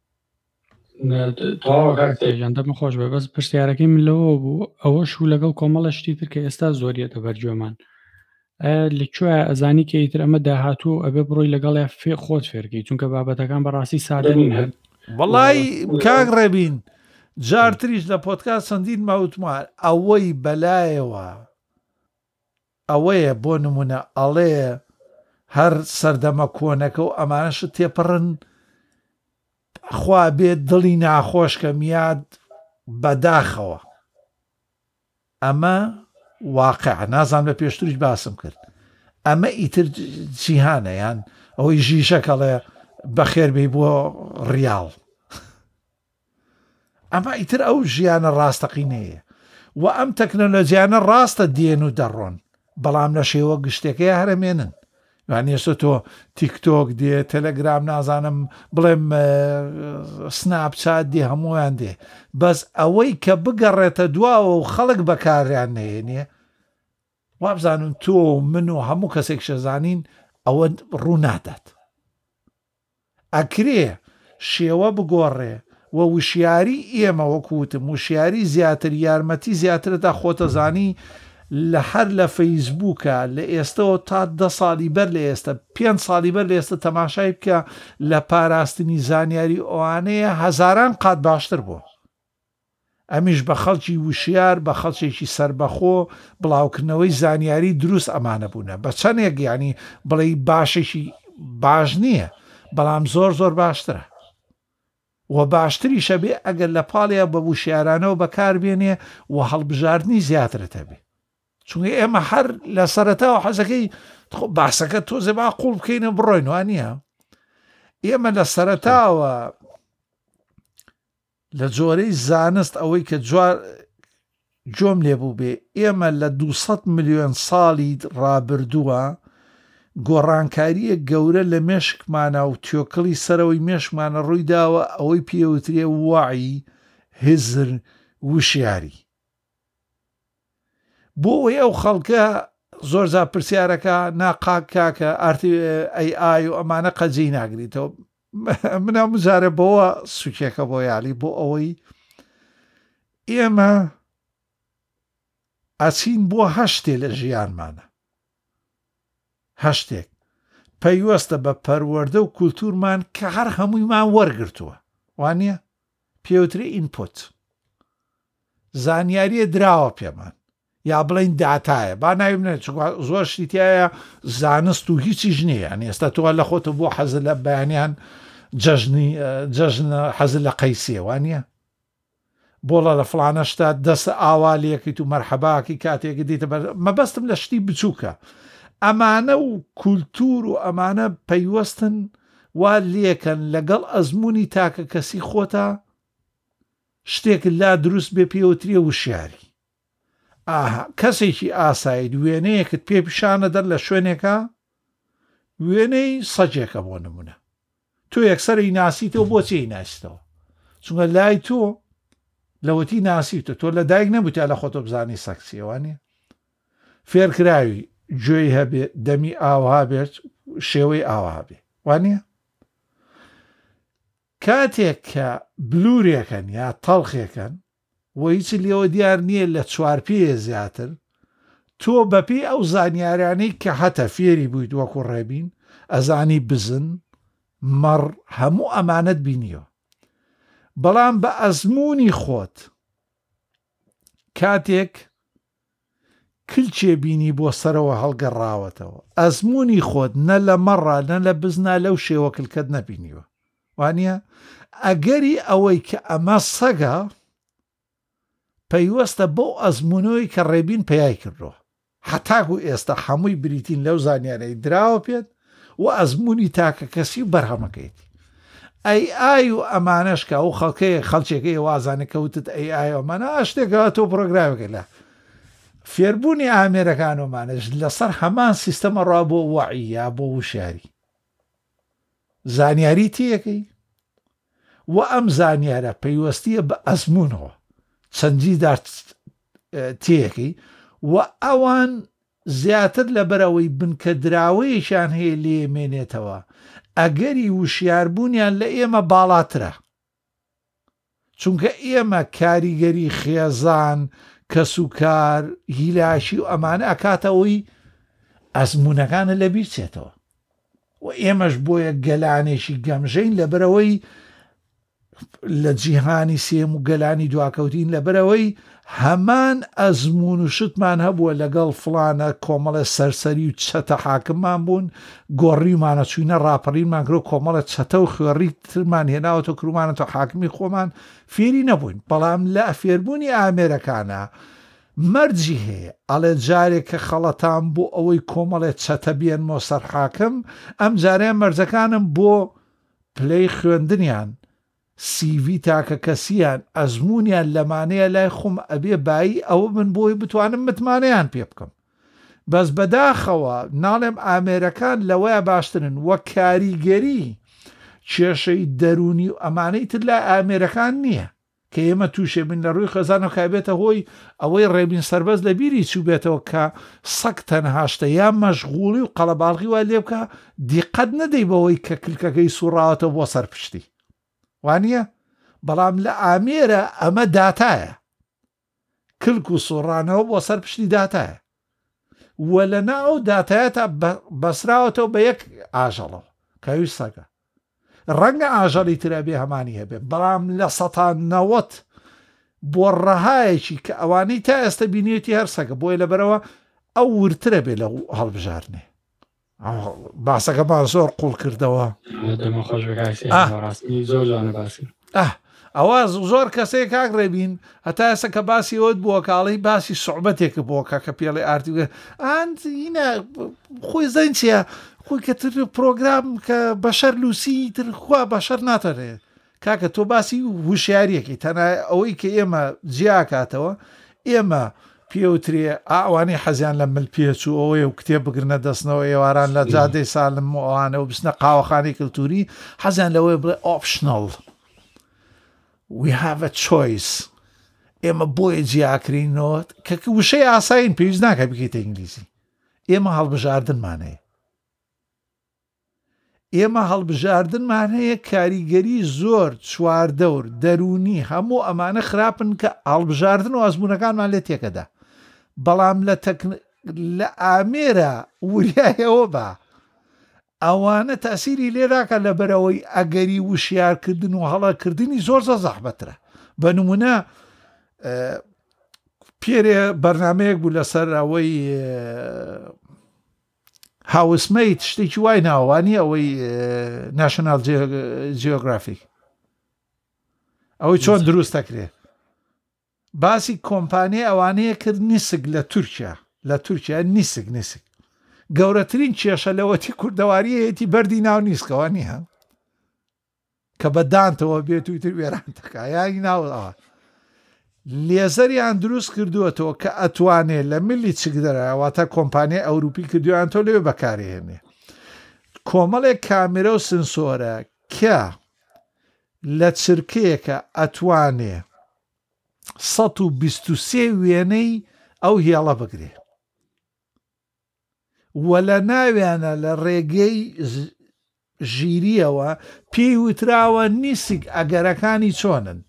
دەمە خۆش بە بەس پرسیارەکەی من لەوە بوو ئەوە شوو لەگەڵ کۆمەڵە شتی تر کە ئێستا زۆریەتە بەرجۆمان لەکوێ ئەزانی کە ئیتر ئەمە داهاتوو ئەبێ بڕۆی لەگەڵ خۆت فێرکەی چونکە بابەتەکان بەڕاستی سادەنین هەر وەڵی کاک ڕێبین جارتریش لە پۆدکاست چەندین ماوتمان ئەوەی بەلایەوە ئەوەیە بۆ نمونە ئەڵێ هەر سەردەمە کۆنەکە و ئەمانەشت تێپەڕن خوا بێت دڵی ناخۆش کە میاد بەداخەوە ئەمە واقع نازان لە پێشتریش باسم کرد ئەمە ئیتر جیهانە یان ئەوەی ژیشەکەڵێ بەخێربێ بۆ ڕیاڵ ئەمە ئیتر ئەو ژیانە ڕاستەقینەیە و ئەم تەکنۆلۆجیانە ڕاستە دێن و دەڕۆن بەڵام لە شێوە گشتەکەی هەرمێنن وانێستا تۆ تیکتۆک دێ تەلەگرام نازانم بڵێم سناپچات دێ هەمویان دێ بەس ئەوەی کە بگەڕێتە دواوە و خەڵک بەکاریان نەهێنێ وابزانن تۆ من و هەموو کەسێک شەزانین ئەوە ڕوو نادات ئەکرێ شێوە بگۆڕێ و وشیاری ئێمە وەکوتم وشیاری زیاتر یارمەتی زیاترەدا خۆتەزانی لە هەر لە فەیسبووکە لە ئێستەوە تا 10 ساڵی بەر لە ئێستا 5 ساڵی بەر لە ئێستا تەماشای بکە لە پاراستنی زانیاری ئەوانەیە هەزاران قات باشتر بوو ئەمیش بە خەڵکی وشیار بە خەڵکێکی سربەخۆ بڵاوکردنەوەی زانیاری دروست ئەمانە بوونە بە چەندێک ینی بڵێ باشێکی باش نییە بەڵام زۆر باشترە و باشتریشە بێ ئەگەر لە پاڵیا بە وشیارانەوە بەکاربێنێ و هەڵبژاردننی زیاترەتە بێ چونکە ئێمە هەر لە سەرەتاوە حەزەکەی باسەکە تۆزێ با قوڵ بکەینە بڕۆین وانە ئێمە لە سەرەتاوە لە جۆرەی زانست ئەوەی کە جۆم لێبوو بێ ئێمە لە 200 ملیۆن ساڵی ڕابردووە گۆڕانکاریە گەورە لە مێشکمانە و تیۆکڵی سەرەوەی مێشکمانە ڕوویداوە ئەوەی پێوترێ وعی هزر وشیاری بۆ ئەوەی ئەو خەڵکە زۆر زار پرسیارەکە ناقاک کاکە ئای و ئەمانە قەجێی ناگریتەوە منە مجارە بەوە سوکێکە بۆ یالی بۆ ئەوەی ئێمە ئەچین بۆ هەشتێ لە ژیانمانە هەشتێک پەیوەستە بە پەروەردە و کولتورمان کە هەر هەموویمان وەرگرتووە وانە پێوتری ئینپوت زانیاریە دراوە پێمان یا بڵین داتایە با ناویمنێ زۆر شتیایە زانست و هیچی ژنەیە ئێستا تۆ لە خۆتە بۆ حەزە لە بەیانیان جەژن حەزە لە قەیسیە وانە بۆڵە لە فڵانە شتا دەستە ئاوالەکەیت و مەرحەباکی کاتێک دیتە مەبەستم لە شتی بچووکە ئەمانە و کولتور و ئەمانە پەیوەستن وا لێکەن لەگەڵ ئەزمموی تاکە کەسی خۆتە شتێک لا دروست بێ پێوتریە وشیاری کەسێکی ئاسایی وێنەیەکت پێ پیشانە دەر لە شوێنێکە وێنەی سەجێکە بۆ نمونە تۆ یەکسەری ناسیتەوە بۆچی ناسیتەوە چونکە لای تۆ لەوەتی ناسیتە تۆ لە دایک نەبوویتە لە خۆتۆ بزانی سەکسیەوانە فێرکراوی گوێی هەبێ دەمی ئاوها بێت شێوەی ئاوا بێ وانە کاتێک کە بلورێکەن یا تەڵخێکەن و هیچ لێەوە دیار نییە لە چوارپێ زیاتر تۆ بەپێی ئەو زانیاریانەی کە هەتە فێری بوویت وەکو ڕێبین ئەزانی بزن مەڕ هەموو ئەمانەت بینیەوە بەڵام بە ئەزمموی خۆت کاتێک کلچێ بینی بۆ سەرەوە هەڵگەڕاوەتەوە ئەزمموی خۆت نە لە مەڕە نە لە بزنا لەو شێوە کلکەت نەبینیوە وانە ئەگەری ئەوەی کە ئەمە سەگە پەیوەستە بۆ ئەزممونەوەی کە ڕێبین پێیای کردەوە حتاکو ئێستا هەمووی بریتین لەو زانیارەی دراوە پێت و ئەزمموی تاکە کەسی و بەرهەمەکەیت ئای و ئەمانەشکە ئەو خەڵکەیە خەڵچێکەکەی وازانە کەوتت ئەمانە شتێکەوە تۆ پرۆگرامەکە لە فێربوونی ئامێرەکانۆمانش لەسەر هەمان سیستەمە ڕوا بۆ وعیە بۆ وشاری زانیاری تیەکەی و ئەم زانیارە پەیوەستیە بە ئەزممونەوە چەندیدار تیەکەی و ئەوان زیاتر لە بەرەوەی بنکە دراوەیەشان هەیە لێمێنێتەوە ئەگەری وشیاربوونیان لە ئێمە باڵاترە چونکە ئێمە کاریگەری خێزان کەسوکار هیلاشی و ئەمانە ئەکاتەوەی ئەزممونەکانە لە بیرچێتەوە و ئێمەش بۆیە گەلانێکی گەمژەین لە بەرەوەی لە جیهانی سێم و گەلانی دواکەوتین لە بەرەوەی هەمان ئەزممون و شتمان هەبووە لەگەڵ فڵانە کۆمەڵە سەرسەری و چەتە حاکممان بوون گۆڕیمانە چوینە ڕاپەڕینمان کرۆ کۆمەڵە چەتە و خوێڕی ترمان هێناوەتە کرومانەوە حاکمی خۆمان فێری نەبووین بەڵام لە فێربوونی ئامێرەکانە مەرجی هەیە ئەڵێ جارێک کە خەڵەتان بۆ ئەوەی کۆمەڵێ چەتە بێنمەوە سەر حاکم ئەم جارەیە مەرجەکانم بۆ پلەی خوێندنیان سیڤی تاکە کەسیان ئەزممونیان لەمانەیە لای خۆم ئەبێ بایی ئەوە من بۆی بتوانم متمانەیان پێ بکەم بەس بەداخەوە ناڵێم ئامێرەکان لەوەیە باشترن وە کاریگەری کێشەی دەرونی و ئەمانەی تر لای ئامێرەکان نییە کە ئێمە تووشێ بن لە ڕووی خەزانە کابێتە هۆی ئەوەی ڕێبین سەربەز لە بیری چوو بێتەوە کە سەگ تەنهاشتە یا مەشغوڵی و قەڵەباڵغی وای لێ بکە دیقەت نەدەی بەوەی کە کلکەکەی سوڕاوەتەوە بۆ سەرپشتی وانە بەڵام لە ئامێرە ئەمە داتایە کلک و سوڕانەوە بۆ سەرپشتی داتایە وە لە ناو داتایەتە بەسراوەتەوە بە یەک ئاژەڵەوە کەوی سەگە ڕەنگە ئاژەڵی ترە بێ هەمانی هەبێ بەڵام لە ١٩٠ بۆ ڕەهایەکی کە ئەوانەی تا ئێستا بینێتی هەر سەگە بۆی لەبەرەوە ئەو ورترە بێ لە هەڵبژارنێ باسەکەمان زۆر قوڵ کردەوە دەمە خۆش ڕاستی زۆر جوانە باسی ئەوە زۆر کەسەیە کاک ڕێبین هەتا ئێستا کە باسی ئەوت بووە کاڵی باسی سوعبەتێکە بۆ کە پێڵی ئارتی ئەینە خۆی زەن چیە خۆی کە تر پرۆگرام کە بەشەر لوسی تر خوا بەشەر ناتەرێ کاکە تۆ باسی وشیارەکی تەنە ئەوەی کە ئێمە جیاکاتەوە ئێمە پێوترێ ئەوانەی حەزیان لە ملپێچ و ئەوەیە و کتێب بگرنە دەستنەوە ئێواران لە جادەی سالم ئەوانە و بچنە قاوەخانەی کللتوری حەزیان لەوەی بڵێ ئۆپشنەڵ we have a choice ئێمە بۆیە جیاکرینەوە کە وشەی ئاساین پێویست ناکە بکەیتە ئینگلیزی ئێمە هەڵبژاردنمان هەیە کاریگەری زۆر چواردەور دەرونی هەموو ئەمانە خراپن کە هەڵبژاردن و ئەزمونونەکانمان لێ تێکەدا بەڵام لە ئامێرە وریایەوە بە ئەوانە تاسیری لێراکە لە بەرەوەی ئەگەری وشیارکردن و هەڵەکردنی زۆر زەحمەترە بە نمونە پێرێ بەرنمەیەک بوو لەسەر ئەوەی هاوسمەیت شتێکی وای ناوانی ئەوەی ناشنال جیۆگرافیک ئەوەی چۆن دروست دەکرێ باسی کۆمپانیای ئەوانەیە کرد نیسک لە تورکیا نیسک گەورەترین کێشە لەوەتی کوردەواریەتی بەردی ناو نیسکەوە نییە کە بەدانتەوە بێت وتر وێران تەکە یانی ناوەوە لێزەریان دروست کردووەتەوە کە ئەتوانێت لە ملی چک دەرەواتە کۆمپانیای ئەوروپی کردویان تۆ لێوێ بەکارهێنێ کۆمەڵێک کامێرە و سنسۆرە کە لە چرکەیەکە ئەتوانێ 123 وێنەی ئەو هێڵە بگرێ وە لە ناویانە لە ڕێگەی ژیریەوە پێی وتراوە نیسک ئەگەرەکانی چۆنن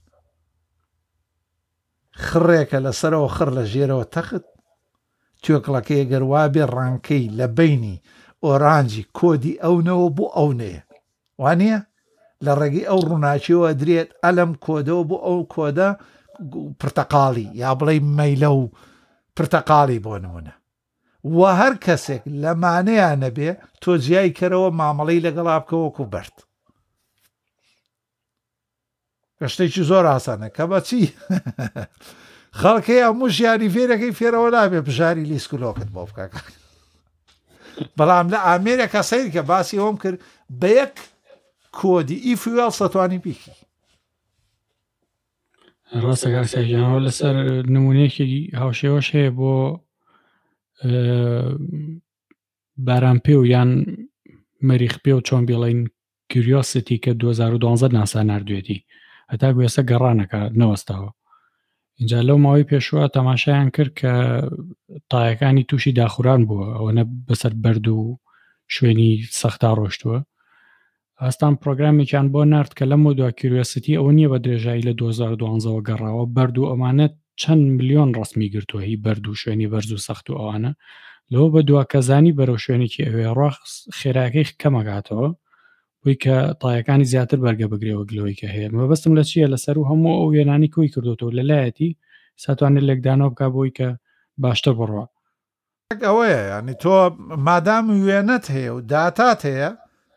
خڕێکە لەسەرەوە خڕ لە ژێرەوە تەخت توێکڵەکەی گەروا بێ ڕانکەی لە بینی ئۆرانجی کۆدی ئەونەوە بۆ ئەونەیە وانە لە ڕێگەی ئەو ڕووناچیەوە درێت ئەلم کۆدەوە بۆ ئەو کۆدە پرتەقاڵی یا بڵێ مەیلە و پرتەقاڵی بۆ نمونە و هەر کەسێک لەمانەیە نەبێ تۆ جیای کەرەوە مامەڵەی لەگەڵا بکەوەکو بەرد گەشتێکی زۆر ئاسانە کە بەچی خەڵکەی هەموو ژیانی فێرەکەی فێرەوە نابێ بژاری لیسکولۆکت بۆ بکە بەڵام لە ئامێرێکە سەیر کە باسی ئەوم کرد بە یەک کۆدی ئیفوێڵ سەتوانی بیکی ڕاستە کاکسیانەوە لەسەر نمونەیەکی هاوشێوەش هەیە بۆ باران پێ و یان مەریخ پێ و چۆن بێڵین کیوریۆسیتی کە 2012 ناسا نردوێتی هەتا گوێسە گەڕانەکە نەوەستاوە اینجا لەو ماوەی پێشوە تەماشایان کرد کە تایەکانی تووشی داخوران بووە ئەوەنە بەسەر بەرد و شوێنی سەختا ڕۆشتووە ئاستان پرۆگرامێکیان بۆ نرد کە لەم دو کیوریۆسیتی ئەوە نییە بە درێژایی لە 2012 گەڕاوە بەرد و ئەمانەت چەند ملیۆن ڕستمی گرتووە هی بەرد و شوێنی بەرز و سەخت و ئەوانە لەوە بە دواکەزانی بەرەو شوێنێکی ئەوێ ڕاخ خێراکەی کەمەگاتەوە بۆی کە تایەکانی زیاتر بەرگە بگرێەوە گلەوەی کە هەیە مەبەستم لە چییە لەسەر و هەموو ئەو وێنانی کوی کردوەوە لەلایەتی ساتوانێت لێکدانەوە بکە بۆی کە باشتر بڕوە ئەوەیە ینی تۆ مادام وێنەت هەیە و داتات هەیە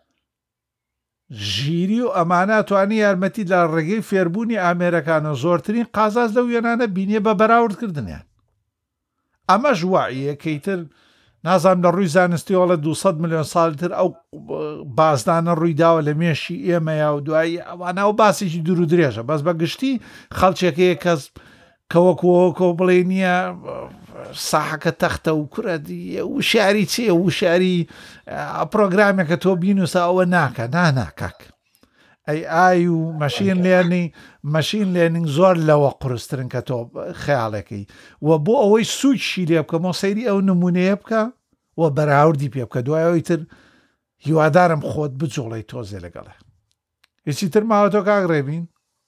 ژیری و ئەمانە توانی یارمەتی لە ڕێگەی فێربوونی ئامێرەکانە زۆرترین قازاز لەو وێنانە بینیە بە بەراوردکردنیان ئەمەش وایەکەیتر نازانام لە ڕووی زانستیەوە لە 200 ملیۆن ساڵتر ئەو بازدانە ڕوویداوە لە مێشی ئێمەیە و دوایی ئەوانە و باسێکی دوور و درێژە بەس بە گشتی خەڵچێکەیە کەس کەوەکۆ بڵێ نییە ساحەکە تەختە و کوردی وشاری چێ وشاری پرۆگرامێکە تۆ بینوسە ئەوە ناکە ناناکەک ئای و مەشین لێنینگ زۆر لەوە قورسترن کە تۆ خەیاڵەکەی و بۆ ئەوەی سوچی لێ بکە مۆسەیری ئەو نمونەیە بکە و بەراوردی پێ بکە دوایەوەی تر هیوادارم خۆت بجوڵی تۆزێ لەگەڵێ هیچی تر ماوە تۆ کاک ڕێبین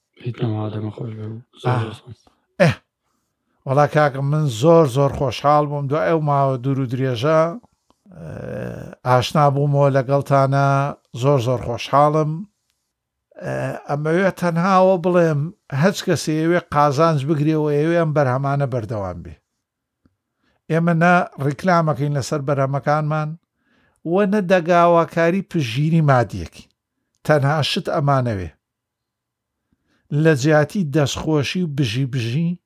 وەڵا کاکە من زۆر خۆشحاڵ بووم دوای ئەو ماوە دوور و درێژە ئاشنا بوومەوە لەگەڵتانە زۆر خۆشحاڵم ئەمەوێ تەنهاوە بڵێم هەچ کەسێ ئەوێ قازانج بگرێەوە ئێوێ ئەم بەرهەمانە بەردەوام بێ ئێمە نە ڕیکلامەکەین لەسەر بەرهەمەکانمان وە نە دەگاواکاری پژگیری مادیەکی تەنها شت ئەمانەوێ لە جیاتی دەستخۆشی و بژی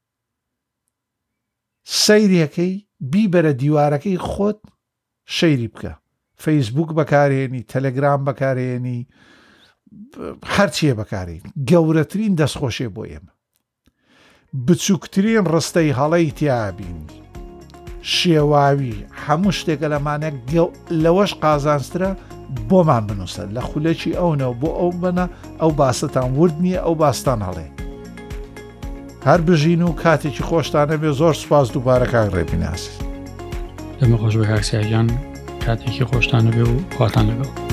سەیرەکەی بیبەرە دیوارەکەی خۆت شەیری بکە فەیسبوک بەکارێنی تەلەگرام بەکارێنی هەرچیە بەکارێن گەورەترین دەستخۆشێ بۆ ئێمە بچووکترین ڕستەی هەڵەی تیابین شێواوی هەموو شتێکە لەمانە لەوەش قازانسترە بۆمان بنووسە لە خولەکی ئەوەوە بۆ ئەو بنە ئەو باستان ورد نییە ئەو باستان هەڵێ هەر بژین و کاتێکی خۆشتانە بێ زۆر سوپاس دووبارە کاک ڕێبیناسی دەمە خۆش بە کاکسیاجان کاتێکی خۆشتانە بێ و خواتان لەگەڵ